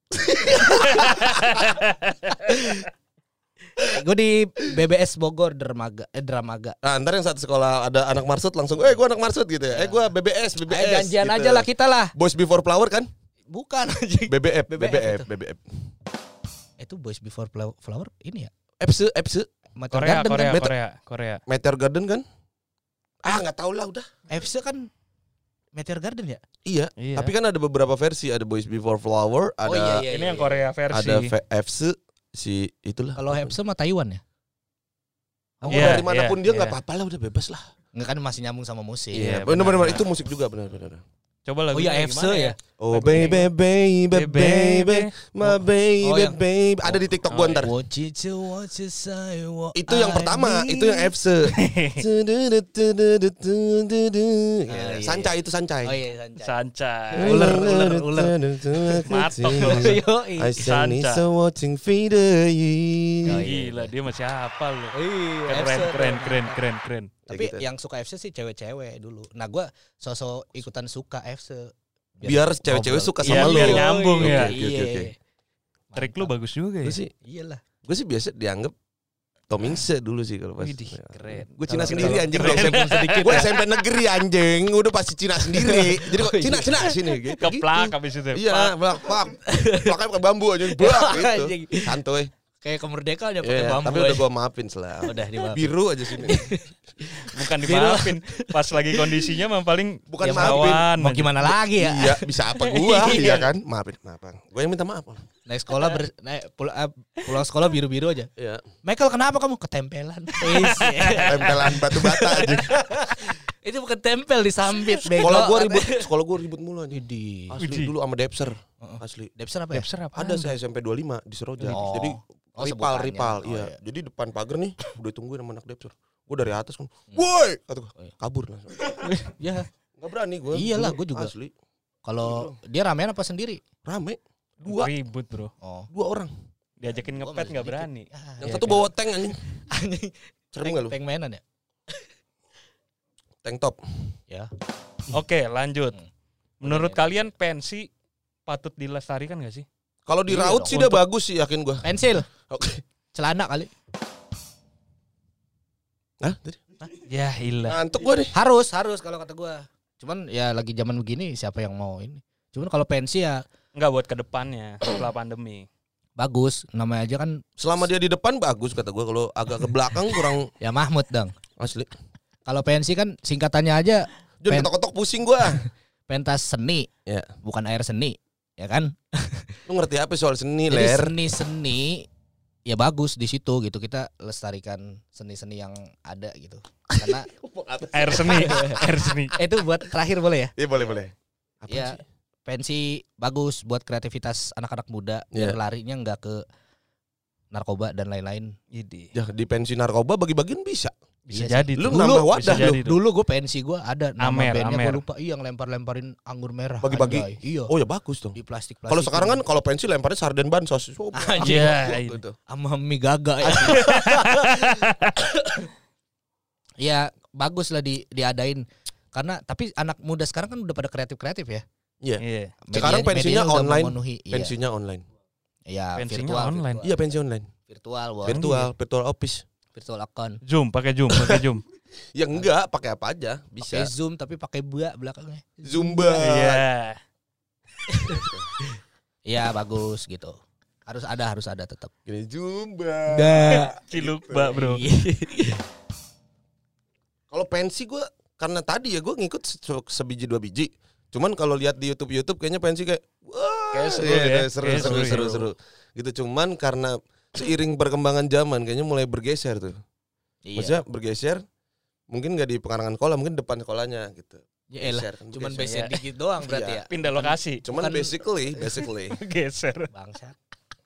Gue di B B S Bogor Dermaga eh Dramaga. Nah, ntar yang satu sekolah ada anak Marsud langsung, eh gue anak Marsud gitu ya. Eh gue B B S, B B S. Ayo janjian gitu. aja lah kita lah. Boys Before Flower kan? Bukan anjing. B B F, B B B B F F, itu. B B F. Itu Boys Before Flow- Flower ini ya. Epse, Epse, Meteor Korea, Garden Korea, kan. Meta- Korea, Korea. Meteor Garden kan? Ah nggak tahu lah udah. F C kan Meteor Garden ya? Iya. Iya. Tapi kan ada beberapa versi, ada Boys Before Flower, ada Oh, iya, iya. Ini yang Korea versi. ada V- F C si itulah. Kalau F C mah Taiwan ya? Mau Iya, dari manapun iya, dia nggak iya. apa-apa lah, udah bebas lah. Enggak kan masih nyambung sama musik. Iya, benar-benar benar. itu musik juga benar-benar. Coba Oh lagunya iya F C gimana ya. Oh Lagunya baby baby baby my baby Oh, yang- baby ada di TikTok gua Oh, ntar. What you do, what you say, what Itu yang I pertama, need. itu yang F C. iya. Sancai itu sancai. Oh iya Sancai. Sancai. Ular, ular, ular. Matok. Yoi. I suddenly Sanca. so watching video. Oh, iya. Gila, dia masih hafal loh. Iya, Keren, F C keren, tuh. keren, keren, keren. Tapi gitu. yang suka F C sih cewek-cewek dulu. Nah gua sosok ikutan suka F C. Biar cewek-cewek ngobrol. suka Iya, sama lu. biar nyambung Oke, ya. oke, oke, oke. Iya. Trik lu bagus juga ya. Gue sih, Iyalah. gue sih biasa dianggap Tomingse dulu sih kalau pas. Widih, keren. Gue Cina Kalau- sendiri kalau anjing. keren. Gue S M P sedikit. Gue S M P negeri anjing. Udah pasti Cina sendiri. Jadi kok Oh, iya. Cina Cina sini gitu. Keplak habis itu. Iya, plak plak. Plaknya pakai bambu aja, blak gitu. Anjing. Santuy. Kayak kemerdekaan ya pakai Iya, bambu. tapi udah aja. gue maafin selah. Udah dimaafin. Biru aja sini. Bukan dimaafin. Pas lagi kondisinya mah paling Bukan ya maafin. lawan Mau aja. gimana lagi ya? Iya, bisa apa gua? Iya kan? Maafin, maafin. Gue yang minta maaf. Naik sekolah ber, naik, pul, eh, pulang sekolah biru-biru aja. Iya. Michael kenapa kamu ketempelan? Is, ya. Tempelan batu bata aja. Itu bukan tempel disambit. bego. Sekolah gua ribut, sekolah gua ribut mulu aja. Di Asli Widih. dulu sama Depser. Asli. Depser apa ya? Depser apa? Ada saya S M P dua puluh lima di Seroja. Oh. Jadi Oh, ripal, sebutannya. ripal, Oh, iya. iya. Jadi depan pagar nih, udah tungguin sama anak Depser. Gua dari atas kan, woi, kata gua, Oh, iya. kabur langsung. Ya, Gak berani gua. Iyalah, dulu, gua juga. Asli, kalau dia ramean apa sendiri? rame. Dua, Ribut bro. Oh. dua orang. Diajakin Gua ngepet masih nggak sedikit. berani. Ah, Yang iya, satu kan. bawa tank anjing. anjing. Serem gak lu? Tank mainan ya? Tank top. Ya. Oke lanjut. Hmm. Menurut Udah, kalian pensi patut dilestarikan gak sih? Kalau di Iya raut dong, sih dia untuk- bagus sih, yakin gua. Pensil, Oke. celana kali. Hah? Tadi? Ya ilah. Ngantuk gua nih. Harus, harus kalau kata gua. Cuman ya lagi zaman begini siapa yang mau ini? Cuman kalau pensi ya Enggak buat kedepannya setelah pandemi. bagus, namanya aja kan Selama dia di depan bagus kata gua. Kalau agak ke belakang kurang ya Mahmud dong. asli. Kalau pensi kan singkatannya aja Jangan Pen- ketok-ketok pusing gua. pentas seni, Ya. bukan air seni, ya kan? Lu ngerti apa soal seni, Jadi Ler? seni-seni ya bagus di situ gitu, kita lestarikan seni-seni yang ada gitu. Karena Air seni, air seni. eh, itu buat terakhir boleh ya? Iya boleh boleh. Apa Ya sih? pensi bagus buat kreativitas anak-anak muda biar Iya. larinya nggak ke narkoba dan lain-lain. Idi. Ya di pensi narkoba bagi-bagian bisa. Bisa Iya jadi Lu tuh. nambah Bisa wadah jadi tuh. Dulu gue pensi gue ada nama Amer, bandnya Amer. gue lupa. Iya yang lempar-lemparin anggur merah. Bagi-bagi? Anjay. Iya. Oh ya bagus dong. Di plastik-plastik. Kalau sekarang kan kalau pensi lemparnya sarden bansos. Oh, Anjing. Iya, gitu. sama mie gaga ya. Ya bagus lah di diadain. Karena tapi anak muda sekarang kan udah pada kreatif-kreatif ya. Iya. Iya. Sekarang Media- pensinya medianya udah online, memenuhi. Iya. Pensinya online. Iya, Pensinya virtual, online. Virtual, Iya pensi online. virtual, Bos. Virtual, virtual office. virtual account. Zoom, pakai Zoom, pakai Zoom. Ya enggak, pakai apa aja bisa. Pakai Zoom tapi pakai bua belakangnya. Zumba. Iya. Iya, bagus gitu. Harus ada, harus ada tetap. Gini Zumba. Ciluk, Mbak, Bro. Kalau pensi gue karena tadi ya gue ngikut se- sebiji dua biji. Cuman kalau lihat di YouTube YouTube kayaknya pensi kayak wah Kayak seru iya, ya. seru, Kayak seru, seru, seru, ya. seru. Gitu cuman karena seiring perkembangan zaman kayaknya mulai bergeser tuh. Iya. Maksudnya bergeser mungkin nggak di pekarangan sekolah, mungkin depan sekolahnya gitu. Ya elah, Geser, kan cuman bergeser. beser dikit doang berarti Iya. ya. Pindah lokasi. Cuman Bukan- basically, basically Geser. Bangsat.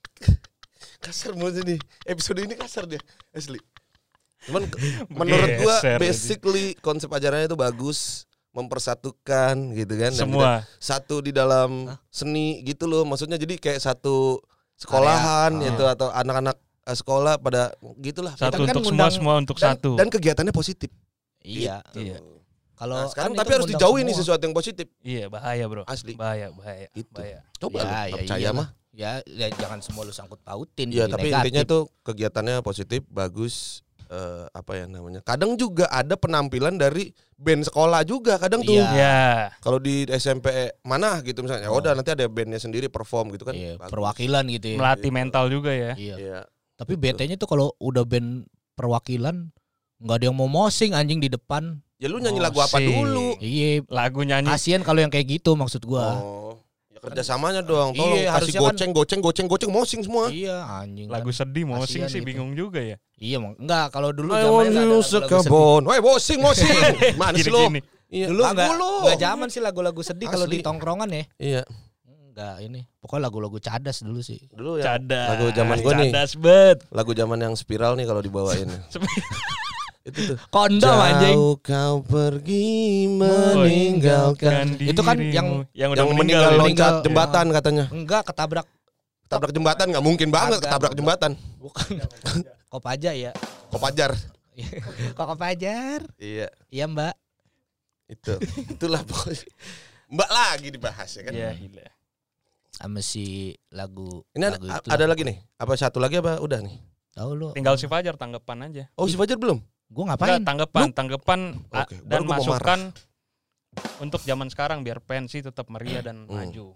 kasar banget nih. Episode ini kasar dia, asli. Cuman ke- menurut gua Geser, basically konsep ajarannya itu bagus, mempersatukan gitu kan. Dan Semua. kita satu di dalam seni gitu loh. Maksudnya jadi kayak satu sekolahan Area. gitu atau anak-anak eh, sekolah pada gitulah. Satu kan untuk semua, ngundang- semua untuk Dan, satu. dan kegiatannya positif. Iya. Gitu. Iya. Kalau Nah, sekarang kan tapi itu harus ngundang dijauhi nih semua. sesuatu yang positif. Iya, bahaya, Bro. Asli. Bahaya, bahaya. Itu. Bahaya. Coba Ya, lu, ya nggak percaya iyalah. mah. Ya, ya jangan semua lu sangkut pautin. Iya, jadi tapi negatif. intinya tuh kegiatannya positif, bagus. eh, apa ya namanya? Kadang juga ada penampilan dari band sekolah juga kadang tuh. Iya. Ya. Kalau di S M P mana gitu misalnya, ya Oh. udah nanti ada bandnya sendiri perform gitu kan. Iya, Bagus. perwakilan gitu ya. Melatih Gitu. mental juga ya. Iya. Iya. Tapi B T-nya tuh kalau udah band perwakilan nggak ada yang mau mosing anjing di depan. Ya lu nyanyi lagu apa Mosing. dulu? Iya, Lagu nyanyi. kasihan kalau yang kayak gitu maksud gua. Oh, ya kerjasamanya doang. Tolong Iya, kasih harusnya kan- goceng, goceng, goceng, goceng, mosing semua. Iya, anjing. Lagu kan. sedih, mosing Kasihan sih gitu. bingung juga ya. Iya, Mang. Enggak, kalau dulu I zamannya want nggak ada you lagu-lagu sedih. sekebon. Woi, mosing, mosing. Mana sih lo? Gini-gini. Iya, Dulu lagu enggak lu. enggak zaman sih lagu-lagu sedih kalau Asli. di tongkrongan ya. Iya. Enggak ini. Pokoknya lagu-lagu cadas dulu sih. Dulu ya. Cadas. Lagu zaman gua nih. Cadas bet. Lagu zaman yang spiral nih kalau dibawain. Itu tuh. Kondom anjing. Jauh kau pergi meninggalkan. Itu kan yang- yang udah Yang meninggal meninggal, loncat meninggal. jembatan katanya. Enggak ketabrak. Ketabrak jembatan nggak mungkin banget Kagak, ketabrak kagak. jembatan. Bukan. Kop aja ya. Kopajar. Kok Kopajar? Iya, Iya, Mbak. itu. Itulah pokoknya. Mbak lagi dibahas ya kan. Iya, gila. Sama si lagu Ini ada, lagu itu ada lah. lagi nih. Apa satu lagi apa udah nih? Tahu lu. Tinggal si Fajar tanggapan aja. Oh, si Fajar belum? Gua ngapain? Enggak, tanggapan, tanggapan a- Oke, dan baru gua mau masukan untuk zaman sekarang biar pensi tetap meriah dan Hmm. maju.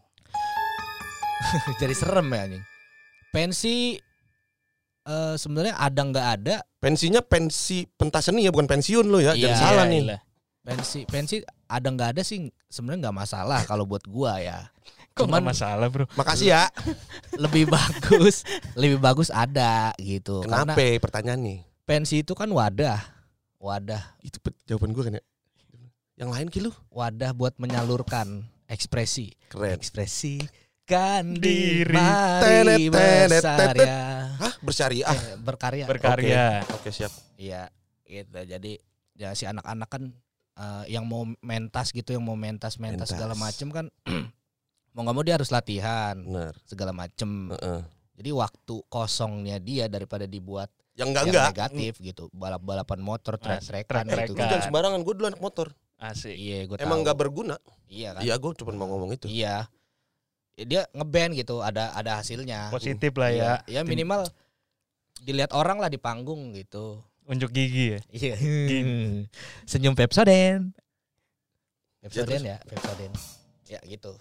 Jadi serem ya anjing. Pensi eh sebenarnya ada nggak ada Pensinya pensi pentas seni ya, bukan pensiun lo ya. Iya, Jangan salah Iya, nih. iya. pensi pensi ada nggak ada sih sebenarnya nggak masalah kalau buat gua ya. Kok nggak Cuman masalah, Bro? Makasih ya. lebih bagus lebih bagus ada gitu. Kenapa Karena pertanyaan nih? pensi itu kan wadah wadah Itu pe- jawaban gue kan ya. Yang lain ki lu? wadah buat menyalurkan ekspresi Keren. ekspresi kan Diri. diri mari Tenet, tenet, tenet. berkarya Hah, bersyariah. Eh, berkarya Berkarya. Oke, siap. Iya, gitu. Jadi ya si anak-anak kan eh, yang mau mentas gitu, yang mau mentas-mentas Mentas. segala macem kan mau nggak mau dia harus latihan Benar. segala macem. Heeh. Jadi waktu kosongnya dia daripada dibuat Yang enggak yang enggak. negatif gitu, balap-balapan motor, Ah, trek-trekan trek-trekan. gitu. Itu jangan sembarangan, gue dulu anak motor. Asik. Iya, gue Emang enggak berguna. Iya kan? Iya, gue cuma mau ngomong itu. Iya. Ya, dia ngeband gitu, ada ada hasilnya. Positif lah ya. Iya, ya minimal dilihat orang lah di panggung gitu. Unjuk gigi ya. Iya. Gini. Senyum Pepsodent. Ya, Pepsodent terus? ya, Pepsodent. Ya gitu.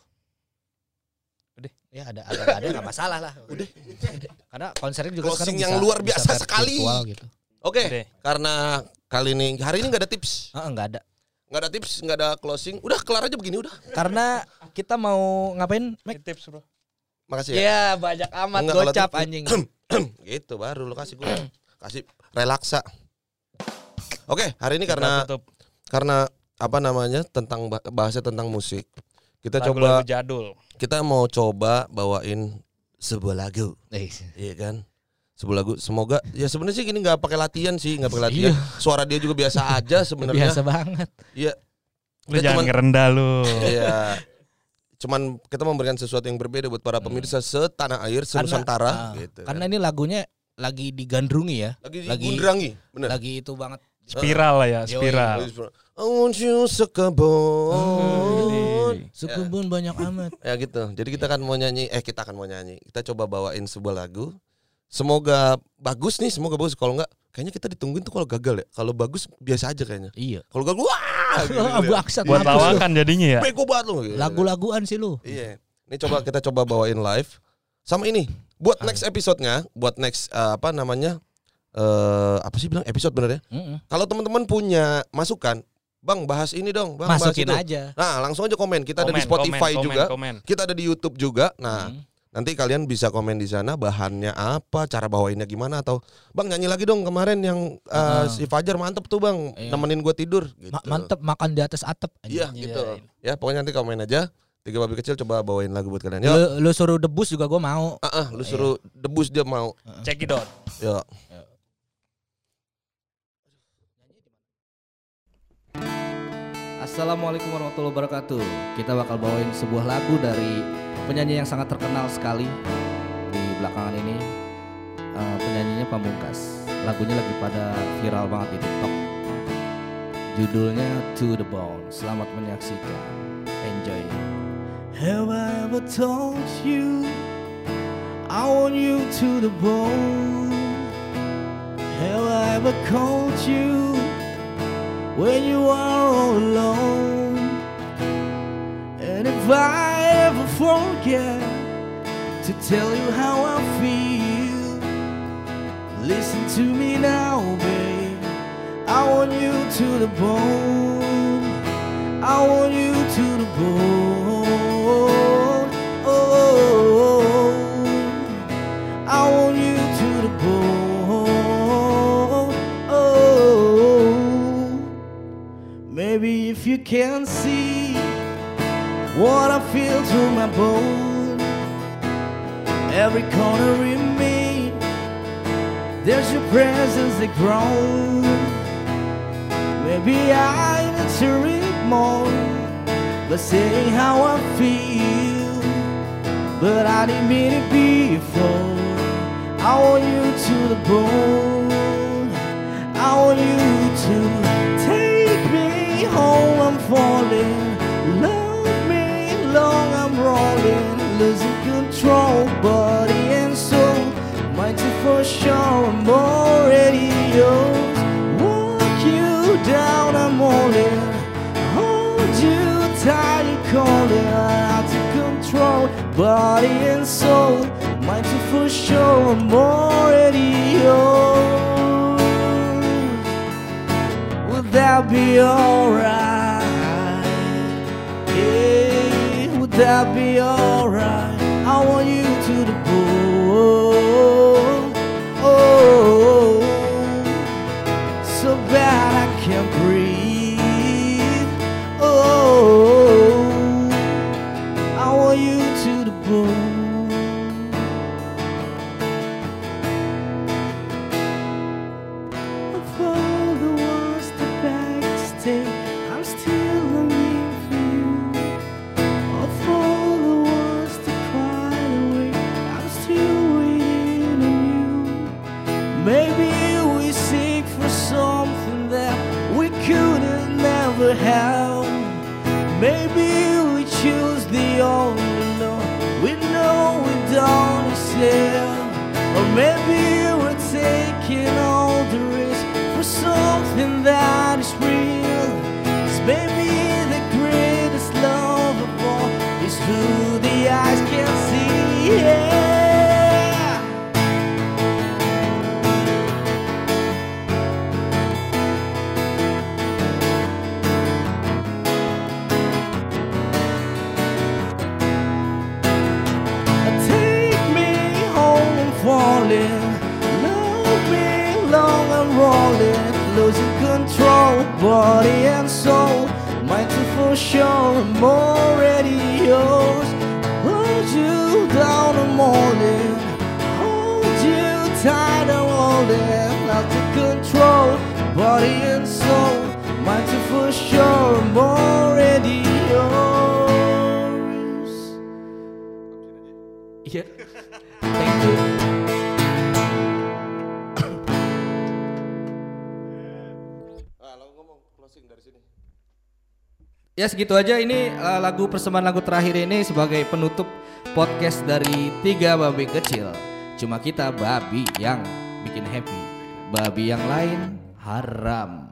Udah. Ya ada ada ada nggak masalah lah. Udah. Karena konsernya juga Closing sekarang yang bisa- luar bisa biasa ver- sekali. virtual gitu. Oke, Udah. karena kali ini hari ini enggak ada tips. Heeh, nggak ada. Enggak ada tips, enggak ada closing. Udah kelar aja begini udah. Karena kita mau ngapain, Mek? Tips, Bro. Makasih ya. Ya banyak amat Enggak, kalau gocap tips- anjing. Gitu baru lu kasih gue. Kasih relaksa. Oke, hari ini karena Kita tutup karena apa namanya tentang bah- bahasnya tentang musik. Kita lagu-lagu coba jadul. kita mau coba bawain sebuah lagu, Eh, iya kan? Sebuah lagu. Semoga ya sebenarnya sih gini nggak pakai latihan sih, nggak pakai latihan. Suara dia juga biasa aja sebenarnya. Biasa banget. Iya. Lu Kita jangan cuman- ngerendah lu. Iya. Cuman kita memberikan sesuatu yang berbeda buat para pemirsa setanah air, senusantara ah, gitu. Karena kan. ini lagunya lagi digandrungi ya. lagi lagi- digundrangi, bener. Lagi itu banget. Spiral lah ya, Yoi. spiral. I want you sekebon. Sukubun banyak amat. Ya gitu. Jadi kita akan mau nyanyi, eh kita akan mau nyanyi. Kita coba bawain sebuah lagu. Semoga bagus nih, semoga bagus. Kalau enggak, kayaknya kita ditungguin tuh kalau gagal ya. Kalau bagus biasa aja kayaknya. Iya. Kalau gagal, wah, gitu, gitu. Bangsat, Buat mampus lu. lawakan jadinya ya. Bego banget lu. Gitu. Lagu-laguan sih lu. Iya. Ini coba kita coba bawain live. Sama ini, buat next episode-nya, buat next eh, apa namanya? eh apa sih bilang episode bener ya? Mm-mm. Kalau teman-teman punya masukan, Bang bahas ini dong, Bang Masukin bahas itu. aja. Nah langsung aja komen, kita Komen, ada di Spotify komen, juga, komen, komen. kita ada di YouTube juga. Nah Hmm. nanti kalian bisa komen di sana bahannya apa, cara bawainnya gimana, atau Bang nyanyi lagi dong kemarin yang uh, Uh. si Fajar mantep tuh Bang, Iya. nemenin gue tidur. Gitu. Ma- mantep makan di atas atap. Iya Anjing. gitu. Ya pokoknya nanti komen aja. Tiga babi kecil coba bawain lagu buat kalian. Yuk. Lu, lu suruh debus juga gue mau. Ah, ah, lu suruh debus dia mau. Check it out. Yuk. Assalamualaikum warahmatullahi wabarakatuh. Kita bakal bawain sebuah lagu dari penyanyi yang sangat terkenal sekali di belakangan ini. Uh, penyanyinya Pamungkas. Lagunya lagi pada viral banget di TikTok. Judulnya To The Bone. Selamat menyaksikan. Enjoy. Have I ever told you I want you to the bone? Have I ever called you when you are all alone? And if I ever forget to tell you how I feel, listen to me now, babe. I want you to the bone. I want you to the bone. Oh, I want you to the bone. Oh, maybe if you can see what I feel to my bone, every corner in me, there's your presence that grows. Maybe I need to read more, but saying how I feel, but I didn't mean it before. I want you to the bone. I want you to take me home. I'm falling. Love me long. I'm rolling, losing control, body and soul. Mind you for sure. I'm already yours. Walk you down. I'm all in. Hold you tight. You calling out to control, body and soul. Mind you for sure. I'm already yours. Would that be alright? Yeah, would that be alright? I want you to the bone. Oh, so bad I can't breathe. Oh, I want you to the bone. Of all the ones that beg to stay, I'm still longing for you. Of all the ones that cried away, I'm still waiting on you. Maybe we seek for something that we couldn't never have. Maybe we choose the only love we know we don't accept. Or maybe we're taking all the risk for something that is real. 'Cause maybe the greatest love of all is who the eyes can see. Yeah. Take me home, I'm falling. Love me long, I'm rolling, losing control, body and soul. Mind you for sure, I'm already yours. Hold you down, I'm all in. Hold you tight, I'm all in. Not to control, body and soul. Mind you for sure, I'm already yours. Yeah. Thank you. Ah, lo ngomong closing dari sini. Ya segitu aja, ini uh, lagu persembahan lagu terakhir ini sebagai penutup podcast dari Tiga Babi Kecil. Cuma kita babi yang bikin happy, babi yang lain haram.